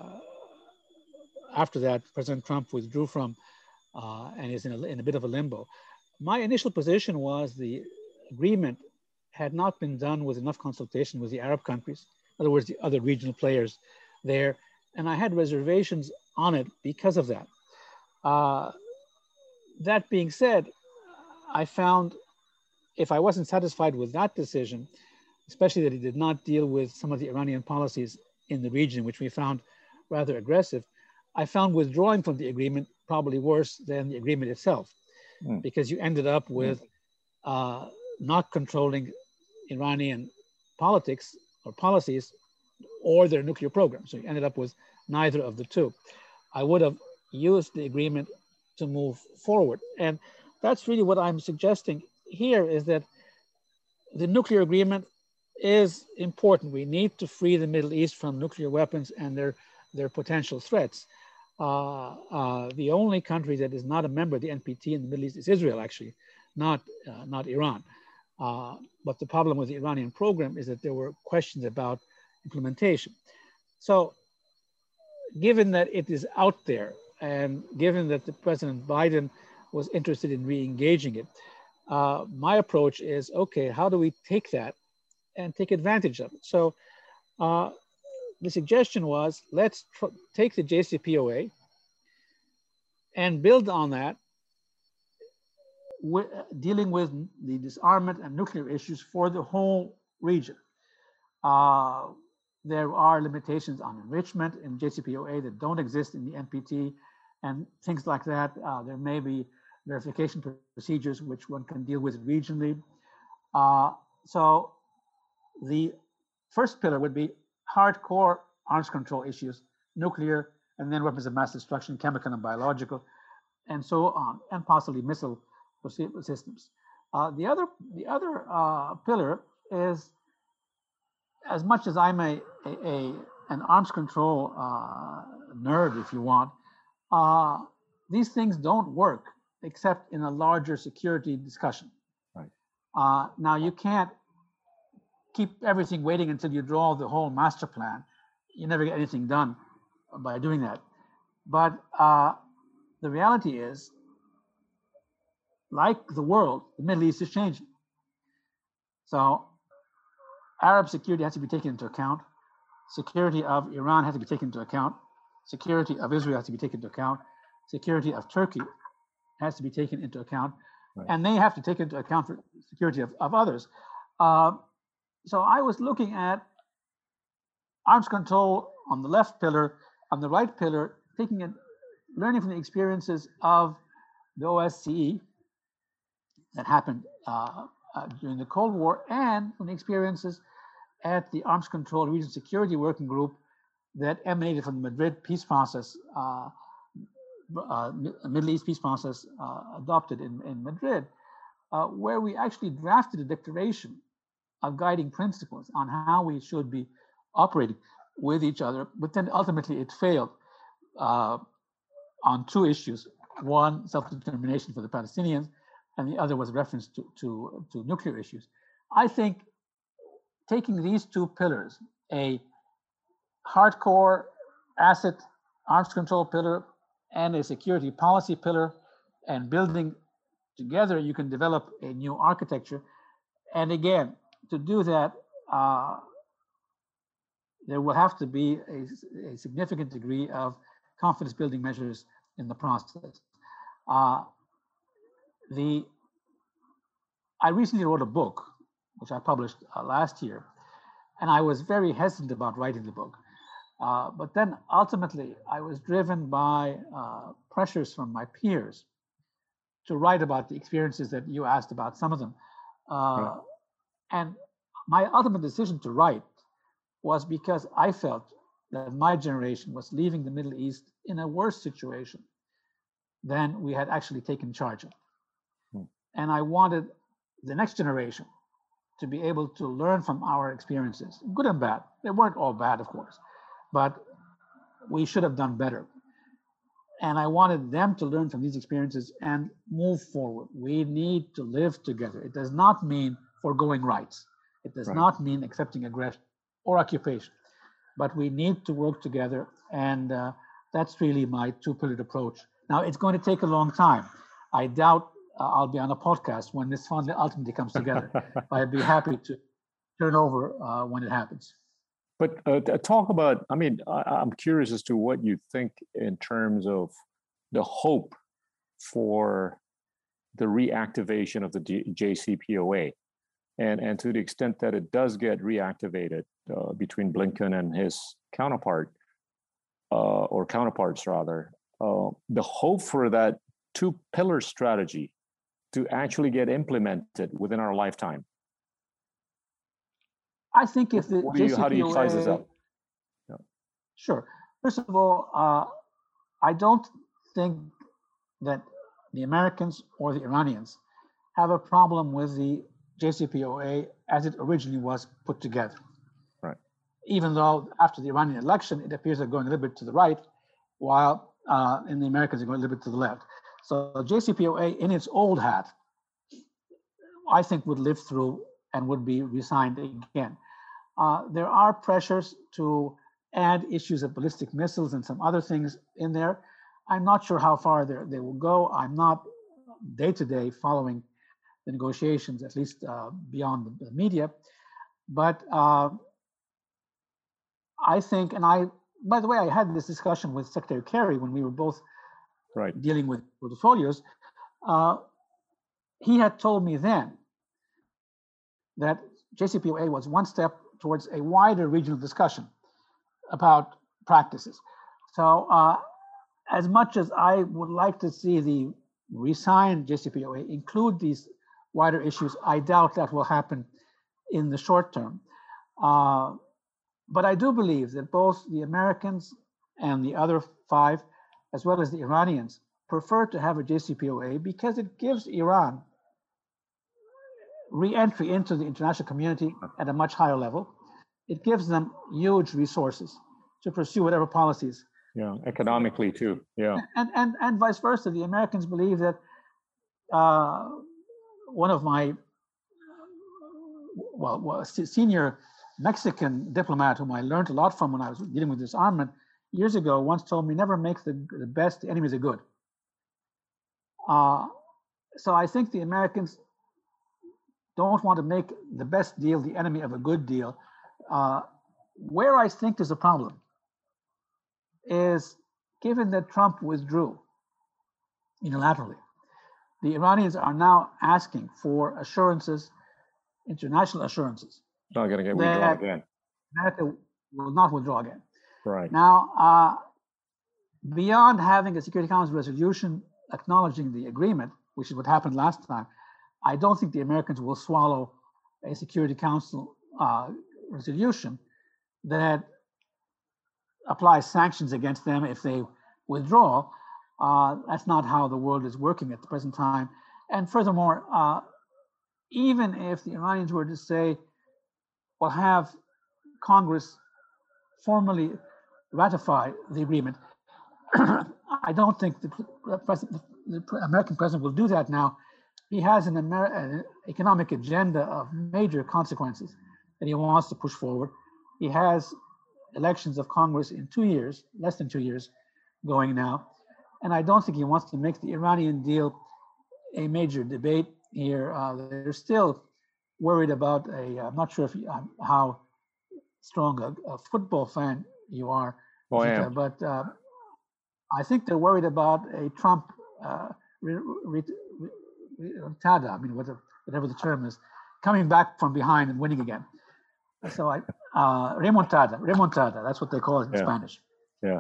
after that President Trump withdrew from and is in a bit of a limbo. My initial position was the agreement had not been done with enough consultation with the Arab countries, in other words, the other regional players there, and I had reservations on it because of that. That being said, I found if I wasn't satisfied with that decision, especially that it did not deal with some of the Iranian policies in the region, which we found rather aggressive, I found withdrawing from the agreement probably worse than the agreement itself, because you ended up with not controlling Iranian politics or policies or their nuclear program. So you ended up with neither of the two. I would have used the agreement to move forward. And that's really what I'm suggesting here, is that the nuclear agreement is important. We need to free the Middle East from nuclear weapons and their potential threats. The only country that is not a member of the NPT in the Middle East is Israel, actually, not Iran. But the problem with the Iranian program is that there were questions about implementation. So given that it is out there, and given that the President Biden was interested in re-engaging it, my approach is, okay, how do we take that and take advantage of it? So the suggestion was, let's take the JCPOA and build on that, dealing with the disarmament and nuclear issues for the whole region. There are limitations on enrichment in JCPOA that don't exist in the NPT, and things like that. There may be verification procedures which one can deal with regionally. So the first pillar would be hardcore arms control issues, nuclear, and then weapons of mass destruction, chemical and biological, and so on, and possibly missile systems. The other pillar is, as much as I'm an arms control nerd, if you want, these things don't work except in a larger security discussion. Right. Now, you can't keep everything waiting until you draw the whole master plan. You never get anything done by doing that. But the reality is, like the world, the Middle East is changing. So Arab security has to be taken into account. Security of Iran has to be taken into account. Security of Israel has to be taken into account. Security of Turkey has to be taken into account. Right. And they have to take into account for security of others. So I was looking at arms control on the left pillar, on the right pillar, learning from the experiences of the OSCE that happened during the Cold War, and from the experiences at the Arms Control Region Security Working Group that emanated from the Madrid peace process, Middle East peace process adopted in Madrid, where we actually drafted a declaration of guiding principles on how we should be operating with each other. But then ultimately it failed on two issues. One, self-determination for the Palestinians, and the other was reference to nuclear issues. I think taking these two pillars, a hardcore asset arms control pillar and a security policy pillar, and building together, you can develop a new architecture. And again, to do that, there will have to be a significant degree of confidence building measures in the process. I recently wrote a book, which I published last year, and I was very hesitant about writing the book. But then ultimately, I was driven by pressures from my peers to write about the experiences that you asked about, some of them. Right. And my ultimate decision to write was because I felt that my generation was leaving the Middle East in a worse situation than we had actually taken charge of. And I wanted the next generation to be able to learn from our experiences, good and bad. They weren't all bad, of course, but we should have done better. And I wanted them to learn from these experiences and move forward. We need to live together. It does not mean foregoing rights. It does not mean accepting aggression or occupation, but we need to work together. And that's really my two-pillared approach. Now, it's going to take a long time. I doubt I'll be on a podcast when this finally ultimately comes together. I'd be happy to turn over when it happens. But talk about, I mean, I'm curious as to what you think in terms of the hope for the reactivation of the JCPOA. And to the extent that it does get reactivated between Blinken and his counterpart, or counterparts rather, the hope for that two-pillar strategy to actually get implemented within our lifetime. I think if the JCPOA, how do you size this up? Yeah. Sure. First of all, I don't think that the Americans or the Iranians have a problem with the JCPOA as it originally was put together. Right. Even though after the Iranian election, it appears they're going a little bit to the right, while in the Americans are going a little bit to the left. So JCPOA in its old hat, I think would live through and would be re-signed again. There are pressures to add issues of ballistic missiles and some other things in there. I'm not sure how far they will go. I'm not day-to-day following the negotiations, at least beyond the media. But I think, and by the way, I had this discussion with Secretary Kerry when we were both dealing with portfolios. He had told me then that JCPOA was one step towards a wider regional discussion about practices. So as much as I would like to see the re-signed JCPOA include these wider issues, I doubt that will happen in the short term. But I do believe that both the Americans and the other five, as well as the Iranians, prefer to have a JCPOA because it gives Iran re-entry into the international community at a much higher level. It gives them huge resources to pursue whatever policies. Yeah, economically too. Yeah, and vice versa. The Americans believe that one of my senior Mexican diplomat, whom I learned a lot from when I was dealing with disarmament, years ago once told me, never make the best enemies of good. So I think the Americans don't want to make the best deal the enemy of a good deal. Where I think there's a problem is, given that Trump withdrew unilaterally, the Iranians are now asking for assurances, international assurances. Not going to get withdrawn again. America will not withdraw again. Right. Now, beyond having a Security Council resolution acknowledging the agreement, which is what happened last time, I don't think the Americans will swallow a Security Council resolution that applies sanctions against them if they withdraw. That's not how the world is working at the present time. And furthermore, even if the Iranians were to say, well, have Congress formally ratify the agreement, I don't think the American president will do that now. He has an economic agenda of major consequences that he wants to push forward. He has elections of Congress in 2 years, less than 2 years going now. And I don't think he wants to make the Iranian deal a major debate here. They're still worried about I'm not sure how strong a football fan you are, oh, I am. But I think they're worried about a Trump remontada, I mean, whatever the term is, coming back from behind and winning again. So remontada, that's what they call it in Spanish. Yeah.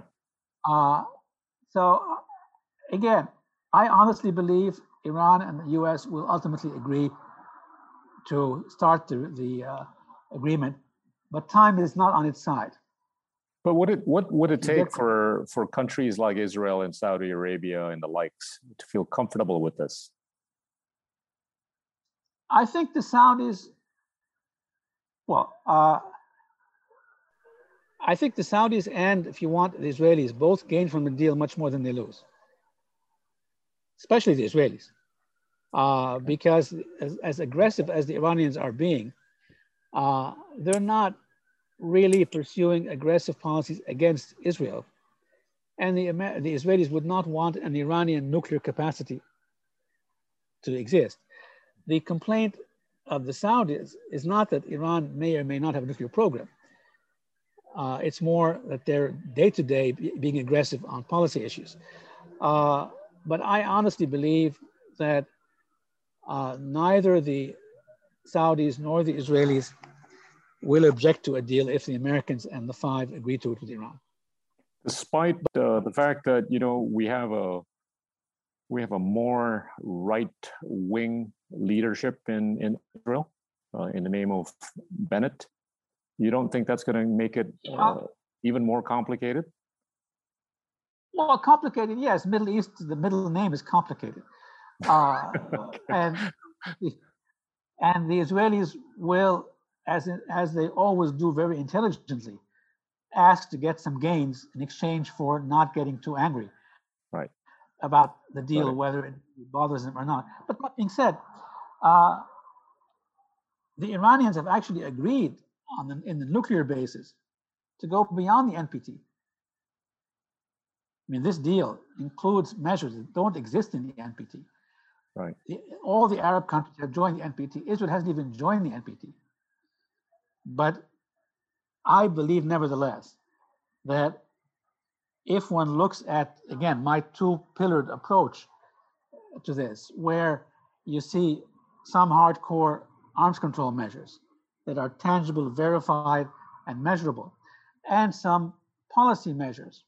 So again, I honestly believe Iran and the US will ultimately agree to start the agreement, but time is not on its side. But what would it take for countries like Israel and Saudi Arabia and the likes to feel comfortable with this? I think the Saudis, I think the Saudis and, if you want, the Israelis both gain from the deal much more than they lose, especially the Israelis, because as aggressive as the Iranians are being, they're not really pursuing aggressive policies against Israel. And the Israelis would not want an Iranian nuclear capacity to exist. The complaint of the Saudis is not that Iran may or may not have a nuclear program. It's more that they're day-to-day being aggressive on policy issues. But I honestly believe that neither the Saudis nor the Israelis will object to a deal if the Americans and the Five agree to it with Iran. Despite the fact that, you know, we have a more right-wing leadership in Israel in the name of Bennett, you don't think that's going to make it even more complicated? Well, complicated, yes. Middle East, the middle name is complicated. And the Israelis will, as they always do very intelligently, ask to get some gains in exchange for not getting too angry about the deal, whether it bothers them or not. But that being said, the Iranians have actually agreed in the nuclear basis to go beyond the NPT. I mean, this deal includes measures that don't exist in the NPT. Right. All the Arab countries have joined the NPT. Israel hasn't even joined the NPT. But I believe, nevertheless, that if one looks at, again, my two-pillared approach to this, where you see some hardcore arms control measures that are tangible, verified, and measurable, and some policy measures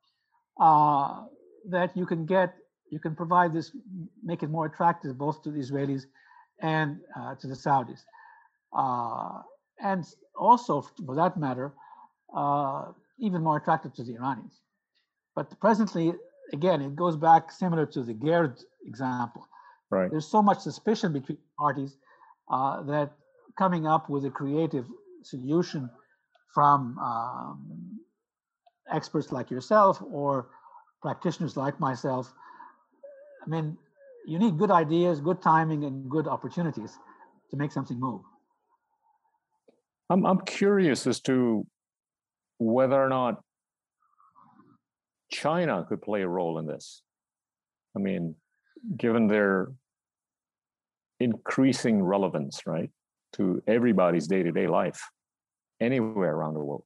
that you can provide this, make it more attractive both to the Israelis and to the Saudis. And also, for that matter, even more attractive to the Iranians. But presently, again, it goes back similar to the Gerd example. Right. There's so much suspicion between parties that coming up with a creative solution from experts like yourself or practitioners like myself, I mean, you need good ideas, good timing, and good opportunities to make something move. I'm curious as to whether or not China could play a role in this? I mean, given their increasing relevance, right, to everybody's day-to-day life, anywhere around the world.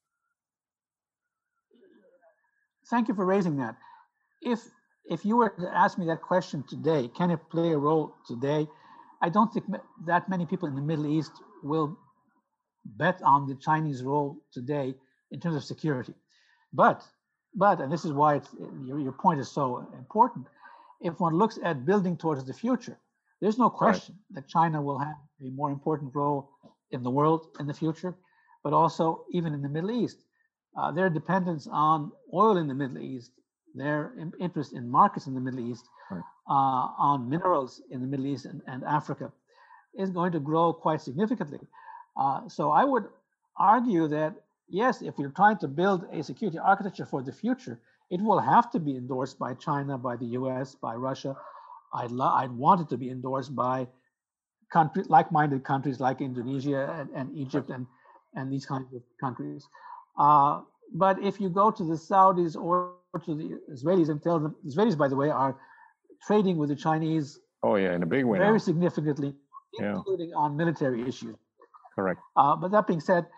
Thank you for raising that. If you were to ask me that question today, can it play a role today? I don't think that many people in the Middle East will bet on the Chinese role today in terms of security. But, and this is why your point is so important, if one looks at building towards the future, there's no question that China will have a more important role in the world in the future, but also even in the Middle East. Their dependence on oil in the Middle East, their interest in markets in the Middle East, on minerals in the Middle East and Africa is going to grow quite significantly. So I would argue that, yes, if you're trying to build a security architecture for the future, it will have to be endorsed by China, by the US, by Russia. I'd want it to be endorsed by like-minded countries like Indonesia and Egypt and these kinds of countries. But if you go to the Saudis or to the Israelis and tell them, Israelis, by the way, are trading with the Chinese. Oh yeah, in a big way. Very significantly, including on military issues. Correct. But that being said,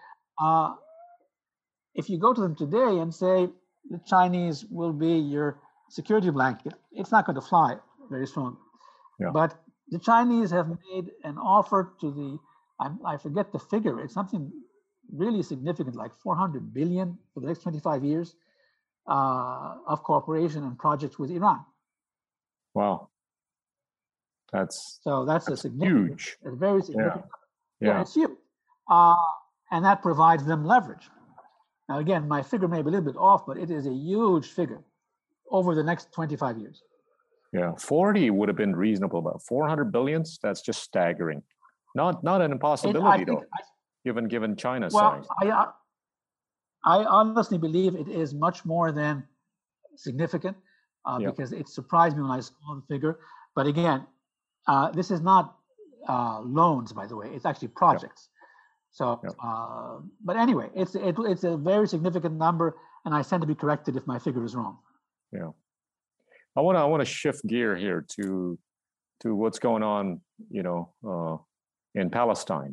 if you go to them today and say the Chinese will be your security blanket, it's not going to fly very strong. Yeah. But the Chinese have made an offer to the, I forget the figure, it's something really significant, like 400 billion for the next 25 years of cooperation and projects with Iran. Wow. That's a significant, huge. It's very significant. Yeah. It's huge. And that provides them leverage. Now, again, my figure may be a little bit off, but it is a huge figure over the next 25 years. Yeah, 40 would have been reasonable, but 400 billions, that's just staggering. Not an impossibility, though, given China's size. I honestly believe it is much more than significant because it surprised me when I saw the figure. But again, this is not loans, by the way. It's actually projects. So, but anyway, it's a very significant number, and I stand to be corrected if my figure is wrong. Yeah, I want to shift gear here to what's going on, in Palestine.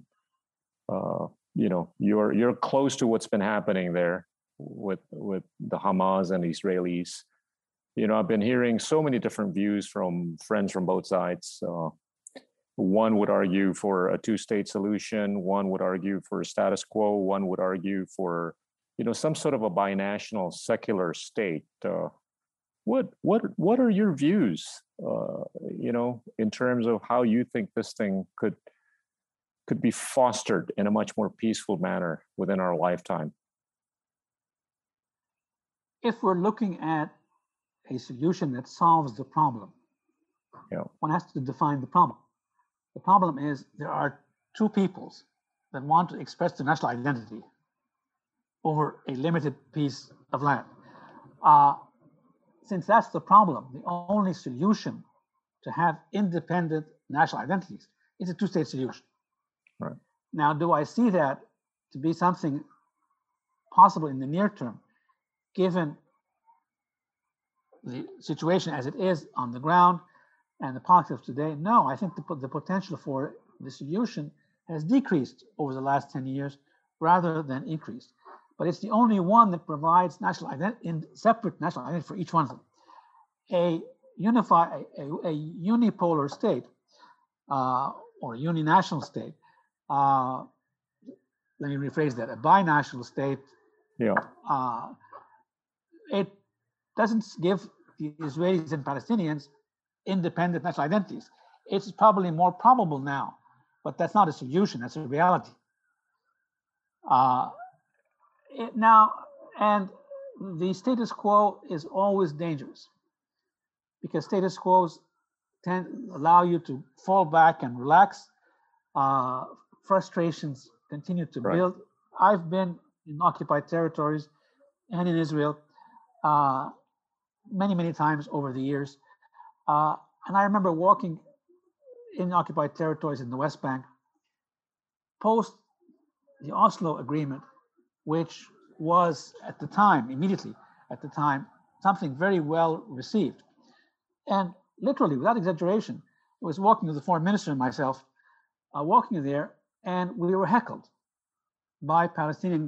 You're close to what's been happening there with the Hamas and the Israelis. I've been hearing so many different views from friends from both sides. One would argue for a two-state solution. One would argue for a status quo. One would argue for, some sort of a binational secular state. What are your views, in terms of how you think this thing could be fostered in a much more peaceful manner within our lifetime? If we're looking at a solution that solves the problem, one has to define the problem. The problem is there are two peoples that want to express their national identity over a limited piece of land. Since that's the problem, the only solution to have independent national identities is a two-state solution. Right. Now, do I see that to be something possible in the near term, given the situation as it is on the ground and the politics of today? No, I think the potential for the solution has decreased over the last 10 years rather than increased. But it's the only one that provides national identity, in separate national identity for each one of them. A unipolar state or a uninational state, let me rephrase that, a binational state, it doesn't give the Israelis and Palestinians independent national identities. It's probably more probable now, but that's not a solution, that's a reality. And the status quo is always dangerous because status quos allow you to fall back and relax. Frustrations continue to build. I've been in occupied territories and in Israel many, many times over the years. And I remember walking in occupied territories in the West Bank post the Oslo Agreement, which was at the time, immediately at the time, something very well received. And literally, without exaggeration, I was walking with the foreign minister and myself, walking there, and we were heckled by Palestinian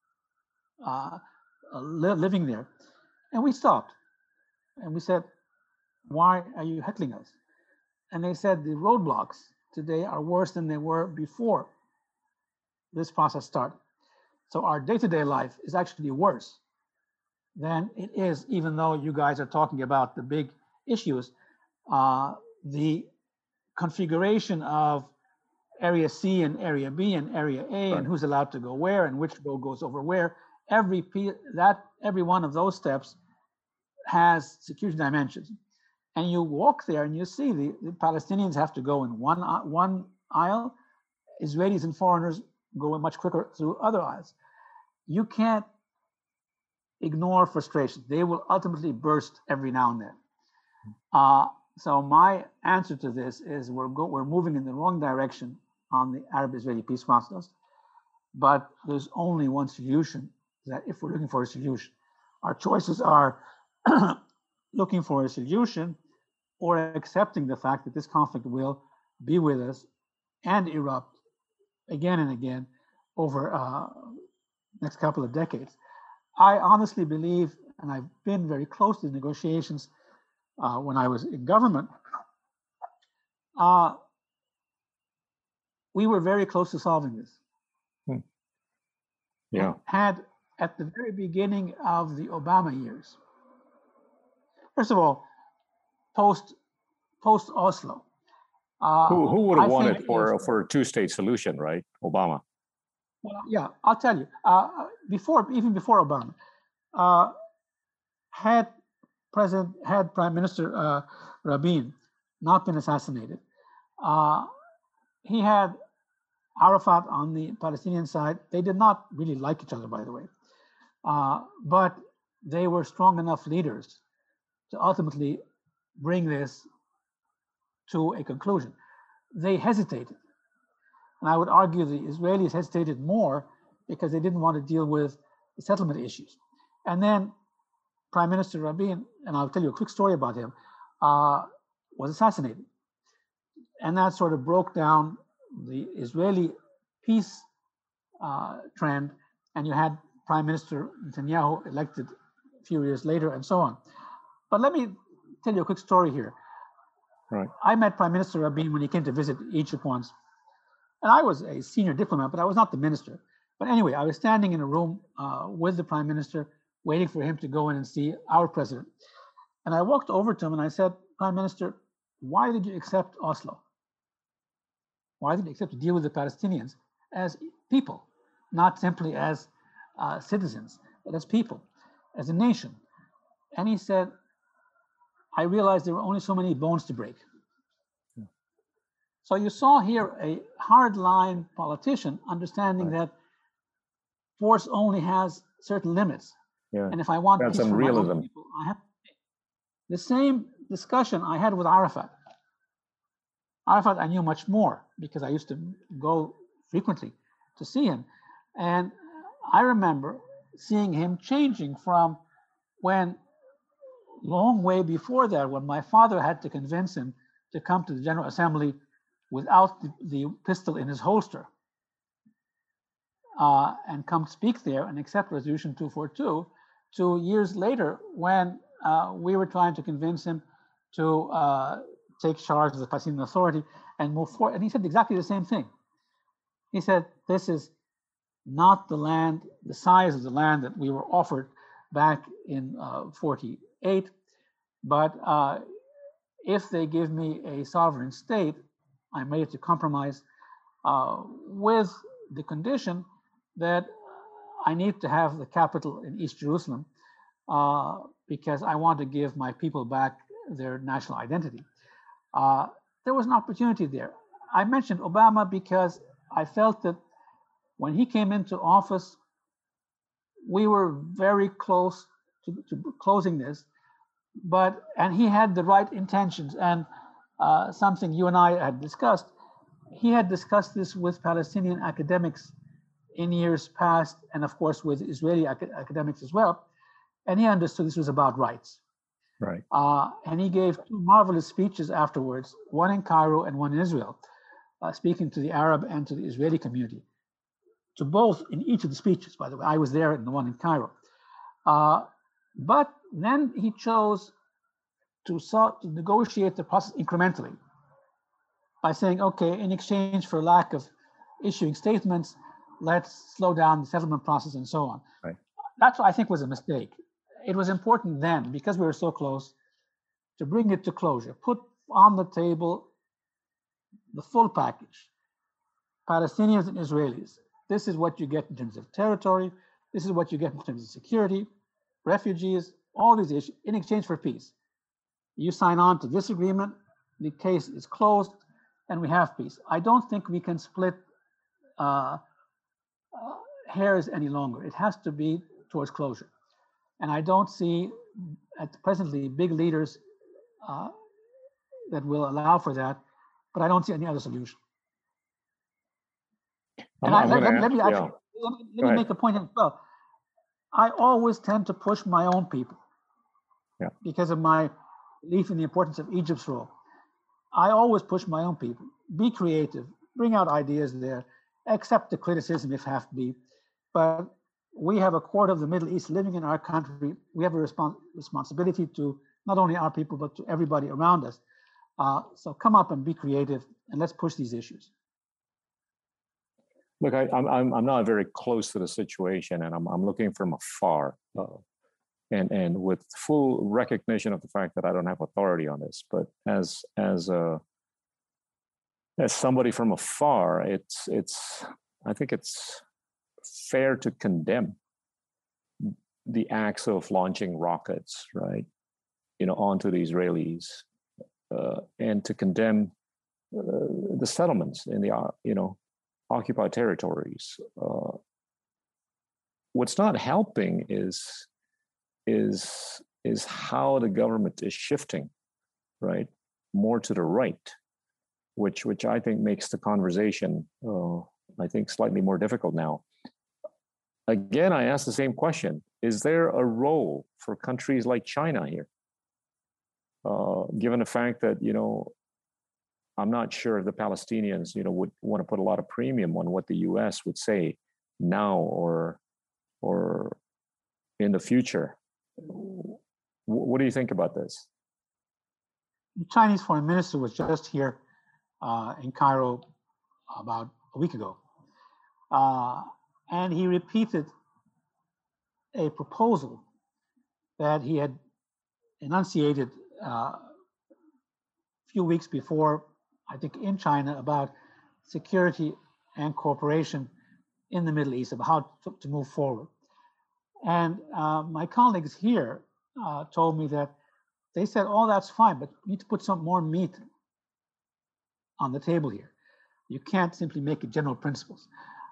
living there. And we stopped and we said, why are you heckling us? And they said the roadblocks today are worse than they were before this process started. So our day-to-day life is actually worse than it is, even though you guys are talking about the big issues. The configuration of Area C and Area B and Area A, and who's allowed to go where and which road goes over where, every one of those steps has security dimensions. And you walk there and you see the Palestinians have to go in one aisle, Israelis and foreigners go much quicker through other aisles. You can't ignore frustration. They will ultimately burst every now and then. So my answer to this is we're moving in the wrong direction on the Arab-Israeli peace process, but there's only one solution. That if we're looking for a solution, our choices are looking for a solution or accepting the fact that this conflict will be with us and erupt again and again over next couple of decades. I honestly believe, and I've been very close to the negotiations when I was in government, we were very close to solving this. Yeah. Had at the very beginning of the Obama years, first of all, post Oslo. Who would have wanted for a two-state solution, right? Obama. Well, yeah, I'll tell you. Even before Obama, had Prime Minister Rabin not been assassinated, he had Arafat on the Palestinian side. They did not really like each other, by the way, but they were strong enough leaders to ultimately bring this to a conclusion. They hesitated. And I would argue the Israelis hesitated more because they didn't want to deal with the settlement issues. And then Prime Minister Rabin, and I'll tell you a quick story about him, was assassinated. And that sort of broke down the Israeli peace trend. And you had Prime Minister Netanyahu elected a few years later and so on. But let me tell you a quick story here. Right. I met Prime Minister Rabin when he came to visit Egypt once. And I was a senior diplomat, but I was not the minister. But anyway, I was standing in a room with the Prime Minister, waiting for him to go in and see our president. And I walked over to him and I said, Prime Minister, why did you accept Oslo? Why did you accept to deal with the Palestinians as people, not simply as citizens, but as people, as a nation? And he said, I realized there were only so many bones to break. So you saw here a hardline politician understanding that force only has certain limits. Yeah. And if I want That's peace some for my realism. own people, I have to pay. The same discussion I had with Arafat. Arafat I knew much more because I used to go frequently to see him. And I remember seeing him changing from when, long way before that, when my father had to convince him to come to the General Assembly without the pistol in his holster and come speak there and accept Resolution 242, 2 years later when we were trying to convince him to take charge of the Palestinian Authority and move forward. And he said exactly the same thing. He said, this is not the land, the size of the land that we were offered back in 48, but if they give me a sovereign state, I'm ready to compromise with the condition that I need to have the capital in East Jerusalem because I want to give my people back their national identity. There was an opportunity there. I mentioned Obama because I felt that when he came into office, we were very close to closing this, and he had the right intentions, and something you and I had discussed. He had discussed this with Palestinian academics in years past, and of course with Israeli academics as well. and he understood this was about rights. Right. And he gave two marvelous speeches afterwards, one in Cairo and one in Israel, speaking to the Arab and to the Israeli community. To both, in each of the speeches, by the way. I was there in the one in Cairo. But then he chose to negotiate the process incrementally by saying, okay, in exchange for lack of issuing statements, let's slow down the settlement process and so on. Right. That's what I think was a mistake. It was important then, because we were so close, to bring it to closure, put on the table the full package. Palestinians and Israelis, this is what you get in terms of territory, this is what you get in terms of security, refugees, all these issues, in exchange for peace. You sign on to this agreement, the case is closed, and we have peace. I don't think we can split hairs any longer. It has to be towards closure. And I don't see at presently big leaders that will allow for that, but I don't see any other solution. And let me make a point as well. I always tend to push my own people because of my belief in the importance of Egypt's role. I always push my own people. Be creative, bring out ideas there, accept the criticism if have to be. But we have a quarter of the Middle East living in our country. We have a responsibility to not only our people, but to everybody around us. So come up and be creative, and let's push these issues. Look, I'm not very close to the situation, and I'm looking from afar, and with full recognition of the fact that I don't have authority on this. But as somebody from afar, I think it's fair to condemn the acts of launching rockets, right, onto the Israelis, and to condemn the settlements in the occupied territories. What's not helping is how the government is shifting, right, more to the right, which I think makes the conversation, I think, slightly more difficult now. Again, I ask the same question: is there a role for countries like China here, given the fact that I'm not sure if the Palestinians, would want to put a lot of premium on what the U.S. would say now or in the future. What do you think about this? The Chinese foreign minister was just here in Cairo about a week ago, and he repeated a proposal that he had enunciated a few weeks before, I think, in China, about security and cooperation in the Middle East, about how to move forward. And my colleagues here told me that they said, oh, that's fine, but you need to put some more meat on the table here. You can't simply make it general principles.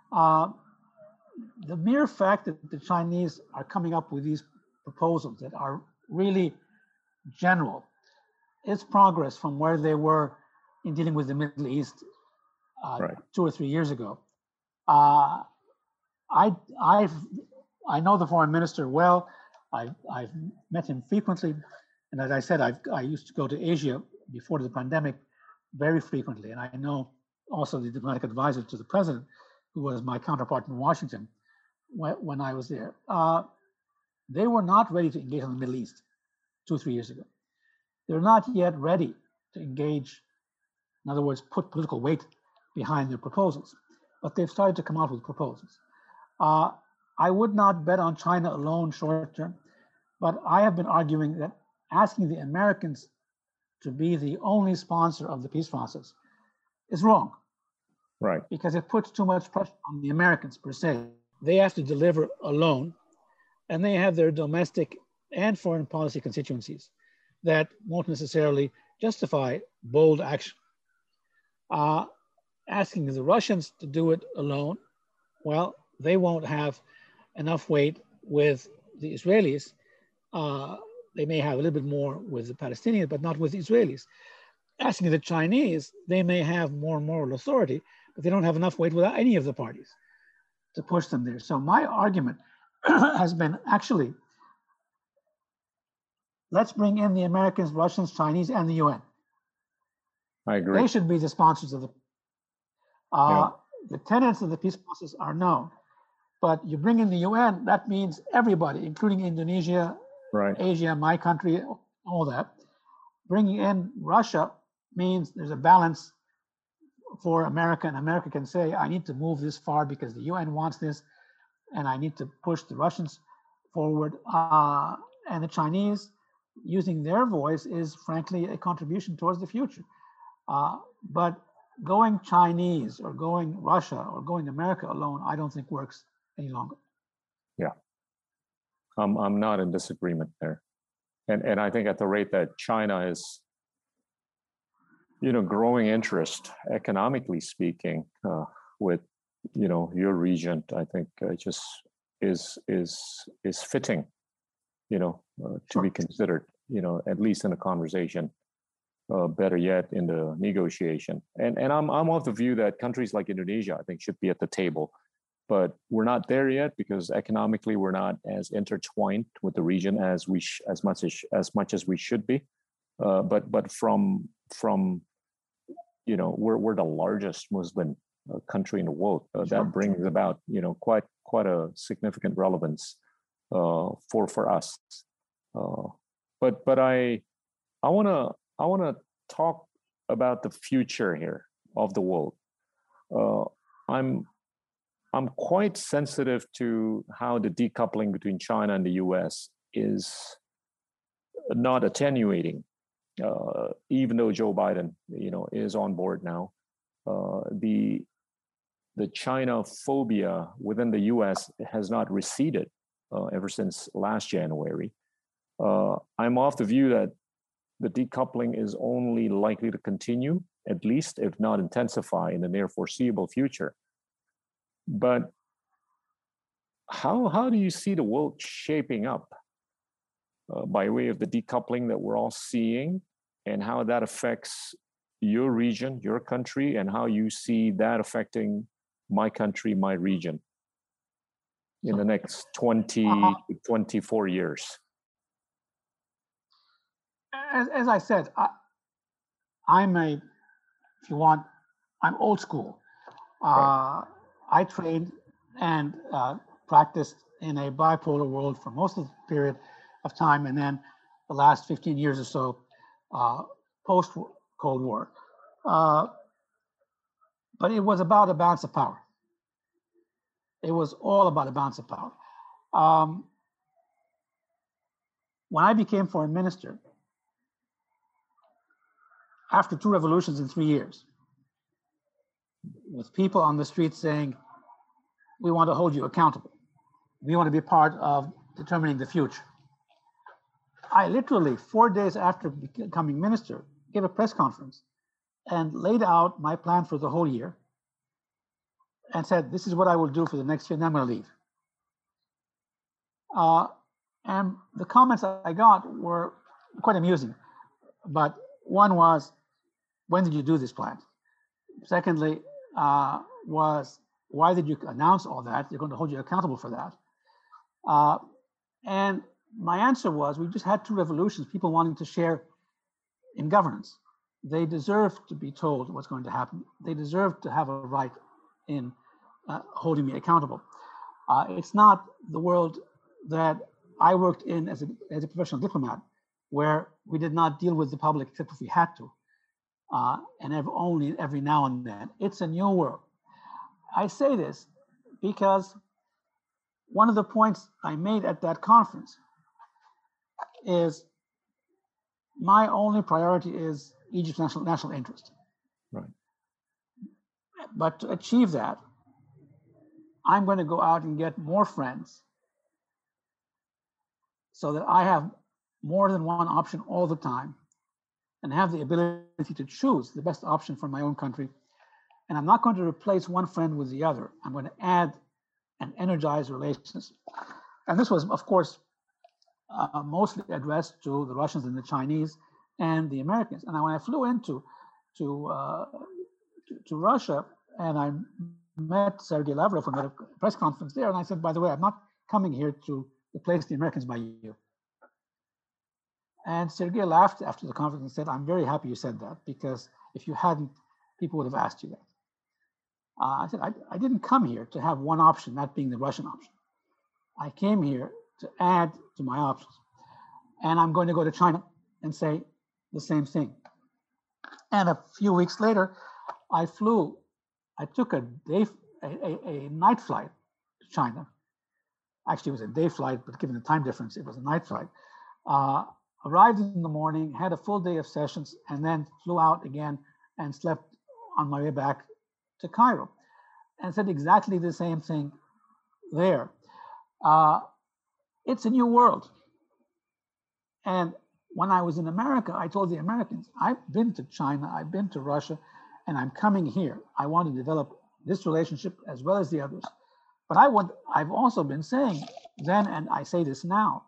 The mere fact that the Chinese are coming up with these proposals that are really general is progress from where they were in dealing with the Middle East right. 2 or 3 years ago. I know the foreign minister well. I've met him frequently, and as I said, I used to go to Asia before the pandemic very frequently, and I know also the diplomatic advisor to the president, who was my counterpart in Washington when I was there. They were not ready to engage in the Middle East 2 or 3 years ago. They're not yet ready to engage, in other words, put political weight behind their proposals, but they've started to come out with proposals. I would not bet on China alone short term, but I have been arguing that asking the Americans to be the only sponsor of the peace process is wrong. Right. Because it puts too much pressure on the Americans per se. They have to deliver alone, and they have their domestic and foreign policy constituencies that won't necessarily justify bold action. Asking the Russians to do it alone, well, they won't have enough weight with the Israelis. They may have a little bit more with the Palestinians, but not with the Israelis. Asking the Chinese, they may have more moral authority, but they don't have enough weight with any of the parties to push them there. So my argument has been actually let's bring in the Americans, Russians, Chinese, and the UN. I agree. They should be the sponsors of the. Yeah. The tenets of the peace process are known, but you bring in the UN, that means everybody, including Indonesia, Right. Asia, my country, all that. Bringing in Russia means there's a balance for America, and America can say, I need to move this far because the UN wants this, and I need to push the Russians forward. And the Chinese, using their voice, is frankly a contribution towards the future. But going Chinese or going Russia or going America alone, I don't think works any longer. Yeah. I'm not in disagreement there. And I think at the rate that China is, growing interest, economically speaking, with, your region, I think just is fitting, to be considered, at least in a conversation. Better yet, in the negotiation. And I'm of the view that countries like Indonesia, I think, should be at the table, but we're not there yet because economically we're not as intertwined with the region as much as we should be. But from we're the largest Muslim country in the world. That brings about quite a significant relevance for us. But I want to talk about the future here of the world. I'm quite sensitive to how the decoupling between China and the US is not attenuating, even though Joe Biden, is on board now. The China phobia within the US has not receded ever since last January. I'm of the view that the decoupling is only likely to continue, at least if not intensify in the near foreseeable future. But how do you see the world shaping up by way of the decoupling that we're all seeing, and how that affects your region, your country, and how you see that affecting my country, my region in the next 20 to 24 years? As I said, I'm old school. Right. I trained and practiced in a bipolar world for most of the period of time, and then the last 15 years or so, post-Cold War. But it was about a balance of power. It was all about a balance of power. When I became foreign minister, after 2 revolutions in 3 years, with people on the street saying, we want to hold you accountable. We want to be part of determining the future. I literally, 4 days after becoming minister, gave a press conference and laid out my plan for the whole year and said, this is what I will do for the next year, and then I'm going to leave. And the comments I got were quite amusing. But one was, when did you do this plan? Secondly, was, why did you announce all that? They're going to hold you accountable for that. And my answer was, we just had 2 revolutions, people wanting to share in governance. They deserve to be told what's going to happen. They deserve to have a right in holding me accountable. It's not the world that I worked in as a professional diplomat, where we did not deal with the public except if we had to, and only every now and then. It's a new world. I say this because one of the points I made at that conference is my only priority is Egypt's national interest. Right. But to achieve that, I'm going to go out and get more friends so that I have more than one option all the time and have the ability to choose the best option for my own country. And I'm not going to replace one friend with the other. I'm going to add and energize relations. And this was, of course, mostly addressed to the Russians and the Chinese and the Americans. And when I flew into Russia and I met Sergei Lavrov and had a press conference there, and I said, by the way, I'm not coming here to replace the Americans by you. And Sergey laughed after the conference and said, "I'm very happy you said that, because if you hadn't, people would have asked you that." I said, I didn't come here to have one option, that being the Russian option. I came here to add to my options. And I'm going to go to China and say the same thing. And a few weeks later, I took a night flight to China. Actually, it was a day flight, but given the time difference, it was a night flight. Arrived in the morning, had a full day of sessions, and then flew out again and slept on my way back to Cairo, and said exactly the same thing there. It's a new world. And when I was in America, I told the Americans, I've been to China, I've been to Russia, and I'm coming here. I want to develop this relationship as well as the others. But I've also been saying then, and I say this now,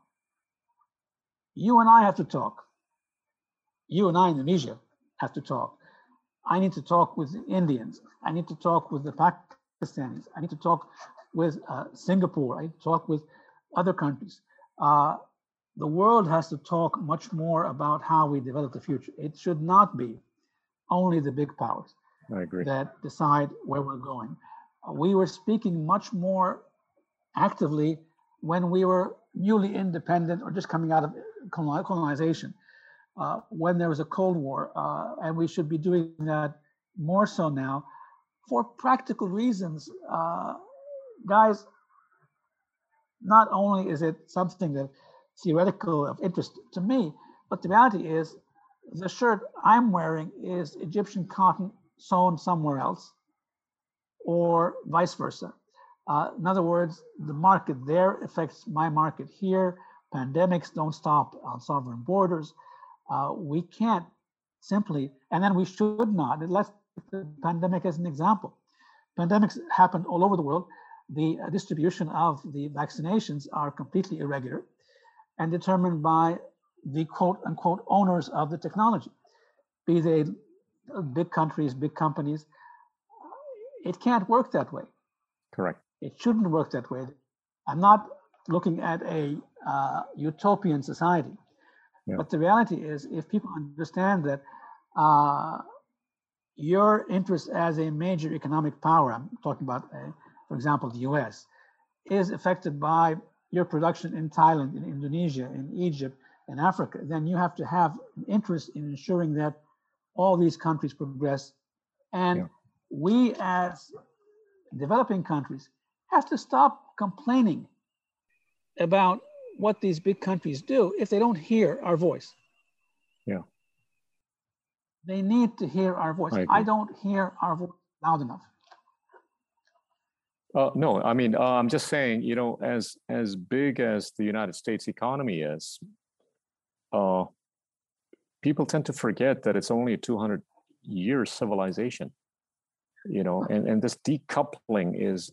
you and I have to talk. You and I, Indonesia, have to talk. I need to talk with the Indians. I need to talk with the Pakistanis. I need to talk with Singapore. I need to talk with other countries. The world has to talk much more about how we develop the future. It should not be only the big powers that decide where we're going. We were speaking much more actively when we were newly independent or just coming out of colonization, when there was a Cold War, and we should be doing that more so now for practical reasons. Guys, not only is it something that theoretical of interest to me, but the reality is the shirt I'm wearing is Egyptian cotton sewn somewhere else, or vice versa. In other words, the market there affects my market here. Pandemics don't stop on sovereign borders. We can't simply, and then we should not, let's take the pandemic as an example. Pandemics happened all over the world. The distribution of the vaccinations are completely irregular and determined by the quote unquote owners of the technology, be they big countries, big companies. It can't work that way. Correct. It shouldn't work that way. I'm not looking at a utopian society, but the reality is, if people understand that your interest as a major economic power, I'm talking about, for example, the US, is affected by your production in Thailand, in Indonesia, in Egypt, in Africa, then you have to have an interest in ensuring that all these countries progress. And we as developing countries have to stop complaining about what these big countries do if they don't hear our voice. Yeah. They need to hear our voice. I don't hear our voice loud enough. No, I mean, I'm just saying, you know, as big as the United States economy is, people tend to forget that it's only a 200-year civilization, you know, and this decoupling is,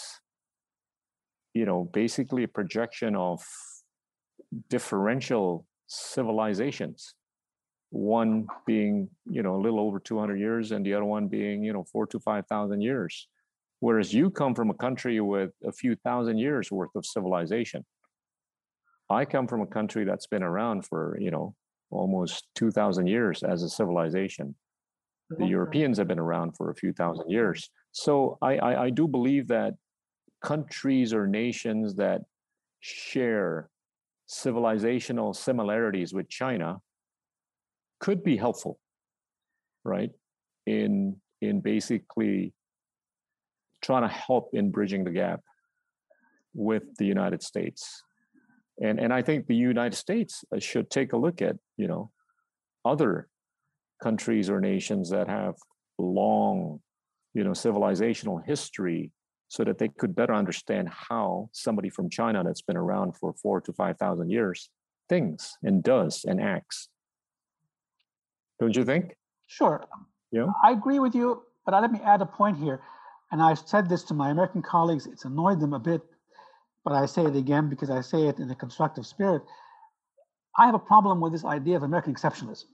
you know, basically a projection of differential civilizations. One being, you know, a little over 200 years and the other one being, you know, 4,000 to 5,000 years. Whereas you come from a country with a few thousand years worth of civilization. I come from a country that's been around for, you know, almost 2,000 years as a civilization. The Europeans have been around for a few thousand years. So I do believe that countries or nations that share civilizational similarities with China could be helpful, right? In basically trying to help in bridging the gap with the United States. And I think the United States should take a look at, you know, other countries or nations that have long, you know, civilizational history, so that they could better understand how somebody from China that's been around for 4,000 to 5,000 years thinks and does and acts. Don't you think? Sure. Yeah. I agree with you, but let me add a point here. And I've said this to my American colleagues. It's annoyed them a bit, but I say it again because I say it in a constructive spirit. I have a problem with this idea of American exceptionalism.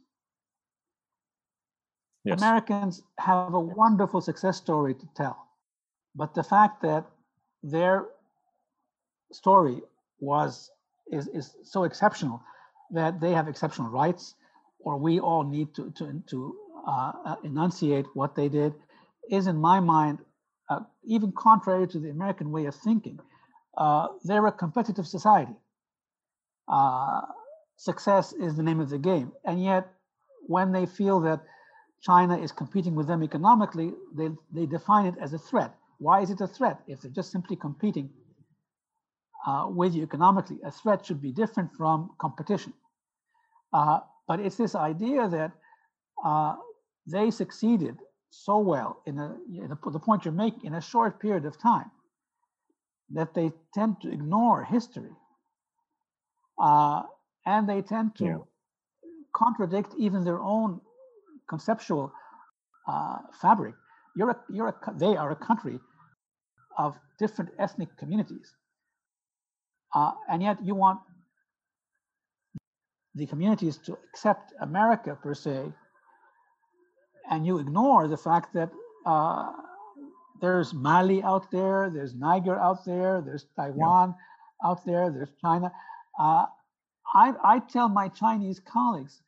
Yes. Americans have a wonderful success story to tell, but the fact that their story is so exceptional that they have exceptional rights, or we all need to enunciate what they did, is in my mind even contrary to the American way of thinking. They're a competitive society. Success is the name of the game, and yet when they feel that China is competing with them economically, they define it as a threat. Why is it a threat? If they're just simply competing with you economically, a threat should be different from competition. But it's this idea that they succeeded so well in the point you're making in a short period of time that they tend to ignore history, and they tend to contradict even their own conceptual fabric. They are a country of different ethnic communities, and yet you want the communities to accept America per se, and you ignore the fact that there's Mali out there, there's Niger out there, there's Taiwan out there, there's China. I tell my Chinese colleagues,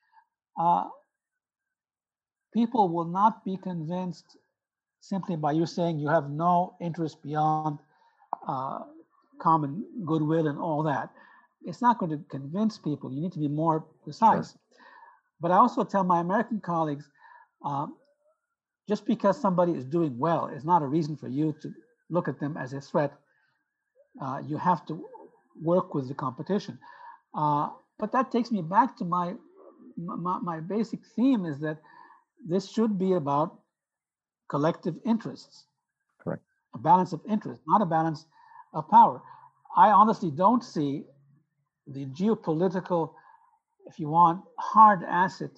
people will not be convinced simply by you saying you have no interest beyond common goodwill and all that. It's not going to convince people. You need to be more precise. Sure. But I also tell my American colleagues, just because somebody is doing well is not a reason for you to look at them as a threat. You have to work with the competition. But that takes me back to my basic theme is that this should be about collective interests. Correct. A balance of interest, not a balance of power. I honestly don't see the geopolitical, if you want, hard asset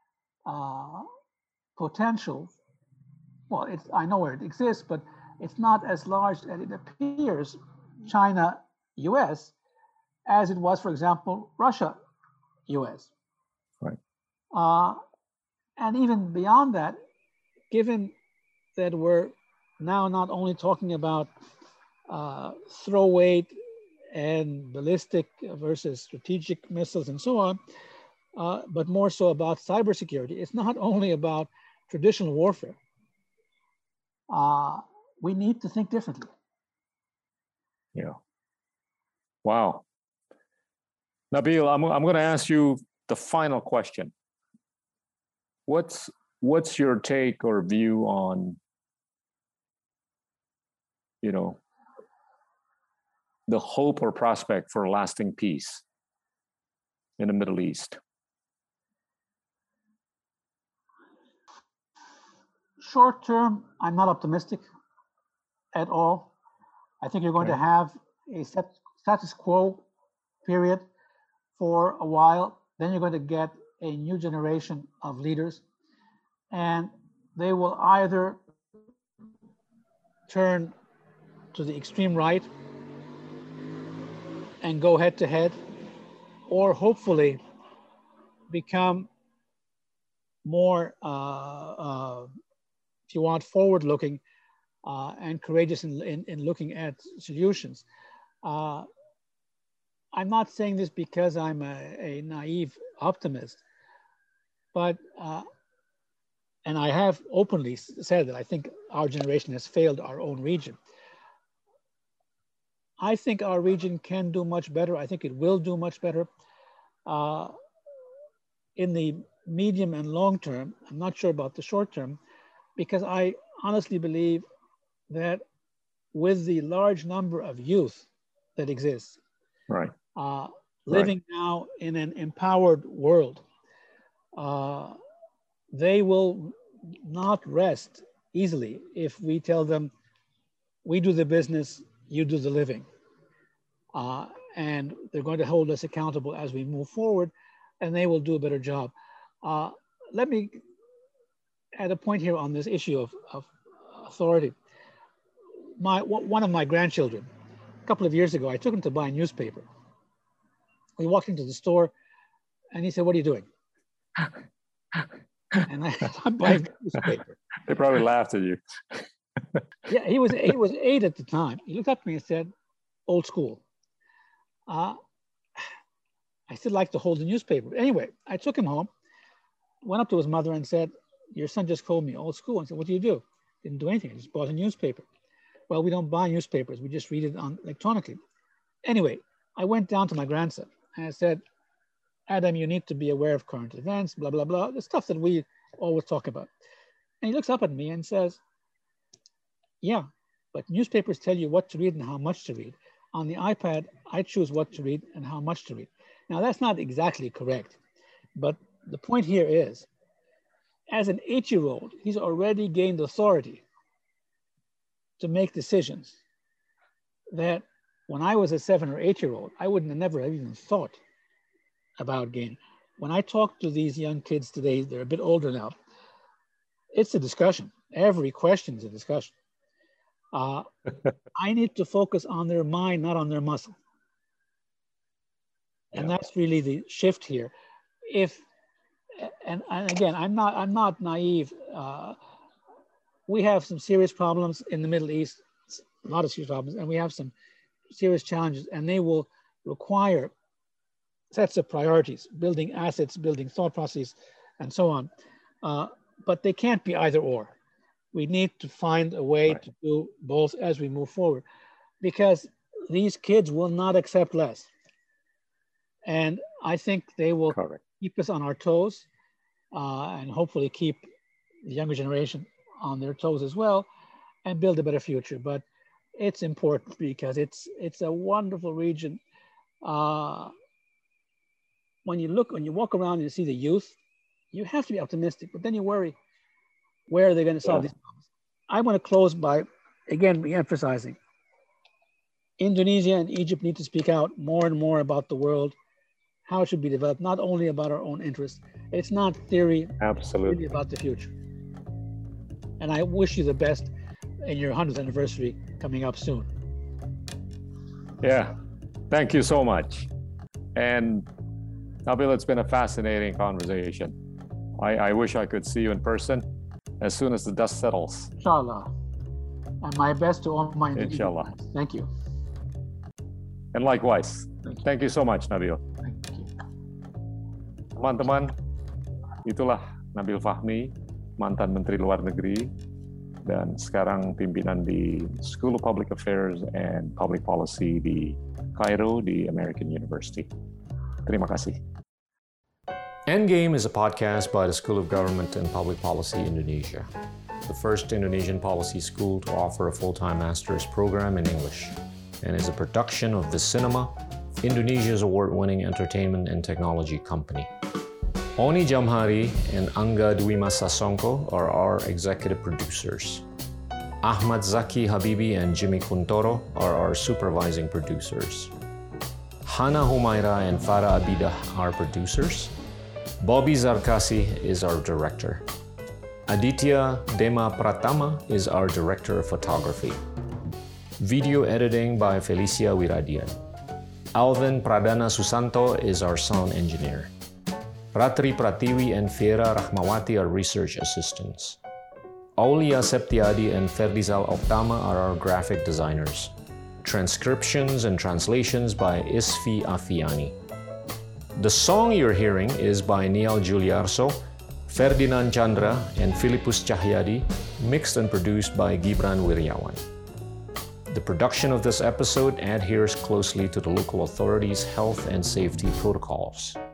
potential. Well, I know where it exists, but it's not as large as it appears, China, US, as it was, for example, Russia, US. Right. And even beyond that, given that we're now not only talking about throw weight and ballistic versus strategic missiles and so on, but more so about cybersecurity. It's not only about traditional warfare. We need to think differently. Yeah. Wow. Nabil, I'm going to ask you the final question. What's your take or view on, the hope or prospect for lasting peace in the Middle East? Short term, I'm not optimistic at all. I think you're going to have a status quo period for a while. Then you're going to get a new generation of leaders, and they will either turn to the extreme right and go head to head, or hopefully become more, if you want, forward-looking and courageous in looking at solutions. I'm not saying this because I'm a naive optimist, but, and I have openly said that I think our generation has failed our own region. I think our region can do much better. I think it will do much better. In the medium and long term, I'm not sure about the short term, because I honestly believe that with the large number of youth that exists, right, living now in an empowered world, they will not rest easily if we tell them, we do the business, you do the living. And they're going to hold us accountable as we move forward, and they will do a better job. Let me add a point here on this issue of authority. One of my grandchildren, a couple of years ago, I took him to buy a newspaper. We walked into the store, and he said, "What are you doing?" And I'm buying a newspaper. They probably laughed at you. Yeah, he was 8 at the time. He looked up at me and said, "Old school." I still like to hold the newspaper. Anyway, I took him home, went up to his mother and said, your son just called me old school. I said, what do you do? Didn't do anything. I just bought a newspaper. Well, we don't buy newspapers. We just read it on electronically. Anyway, I went down to my grandson and I said, Adam, you need to be aware of current events, blah, blah, blah, the stuff that we always talk about. And he looks up at me and says, yeah, but newspapers tell you what to read and how much to read. On the iPad, I choose what to read and how much to read. Now, that's not exactly correct, but the point here is, as an 8-year-old, he's already gained authority to make decisions that when I was a 7 or 8-year-old, I wouldn't have never have even thought about gaining. When I talk to these young kids today, they're a bit older now, it's a discussion. Every question is a discussion. I need to focus on their mind, not on their muscle. And that's really the shift here. And again, I'm not naive. We have some serious problems in the Middle East, a lot of serious problems, and we have some serious challenges, and they will require sets of priorities, building assets, building thought processes, and so on. But they can't be either or. We need to find a way to do both as we move forward, because these kids will not accept less. And I think they will keep us on our toes and hopefully keep the younger generation on their toes as well and build a better future. But it's important because it's a wonderful region. When you walk around and you see the youth, you have to be optimistic, but then you worry, where are they going to solve these problems? I want to close by, again, re-emphasizing Indonesia and Egypt need to speak out more and more about the world, how it should be developed, not only about our own interests. It's not theory, absolutely, really about the future. And I wish you the best in your 100th anniversary coming up soon. Yeah, thank you so much. And Nabil, it's been a fascinating conversation. I wish I could see you in person as soon as the dust settles. Inshallah. And my best to all my Inshallah. Friends. Thank you. And likewise. Thank you so much, Nabil. Thank you. Teman-teman, itulah Nabil Fahmi, mantan Menteri Luar Negeri, dan sekarang pimpinan di School of Public Affairs and Public Policy di Cairo, di American University. Terima kasih. Endgame is a podcast by the School of Government and Public Policy Indonesia, the first Indonesian policy school to offer a full-time master's program in English, and is a production of The Cinema, Indonesia's award-winning entertainment and technology company. Oni Jamhari and Angga Dwi Mas Sasongko are our executive producers. Ahmad Zaki Habibi and Jimmy Kuntoro are our supervising producers. Hana Humaira and Farah Abidah are producers. Bobby Zarkasi is our director. Aditya Dema Pratama is our director of photography. Video editing by Felicia Wiradian. Alvin Pradana Susanto is our sound engineer. Ratri Pratiwi and Fiera Rahmawati are research assistants. Aulia Septiadi and Ferdizal Oktama are our graphic designers. Transcriptions and translations by Isfi Afiani. The song you're hearing is by Niall Juliarso, Ferdinand Chandra, and Philippus Cahyadi, mixed and produced by Gibran Wiryawan. The production of this episode adheres closely to the local authorities' health and safety protocols.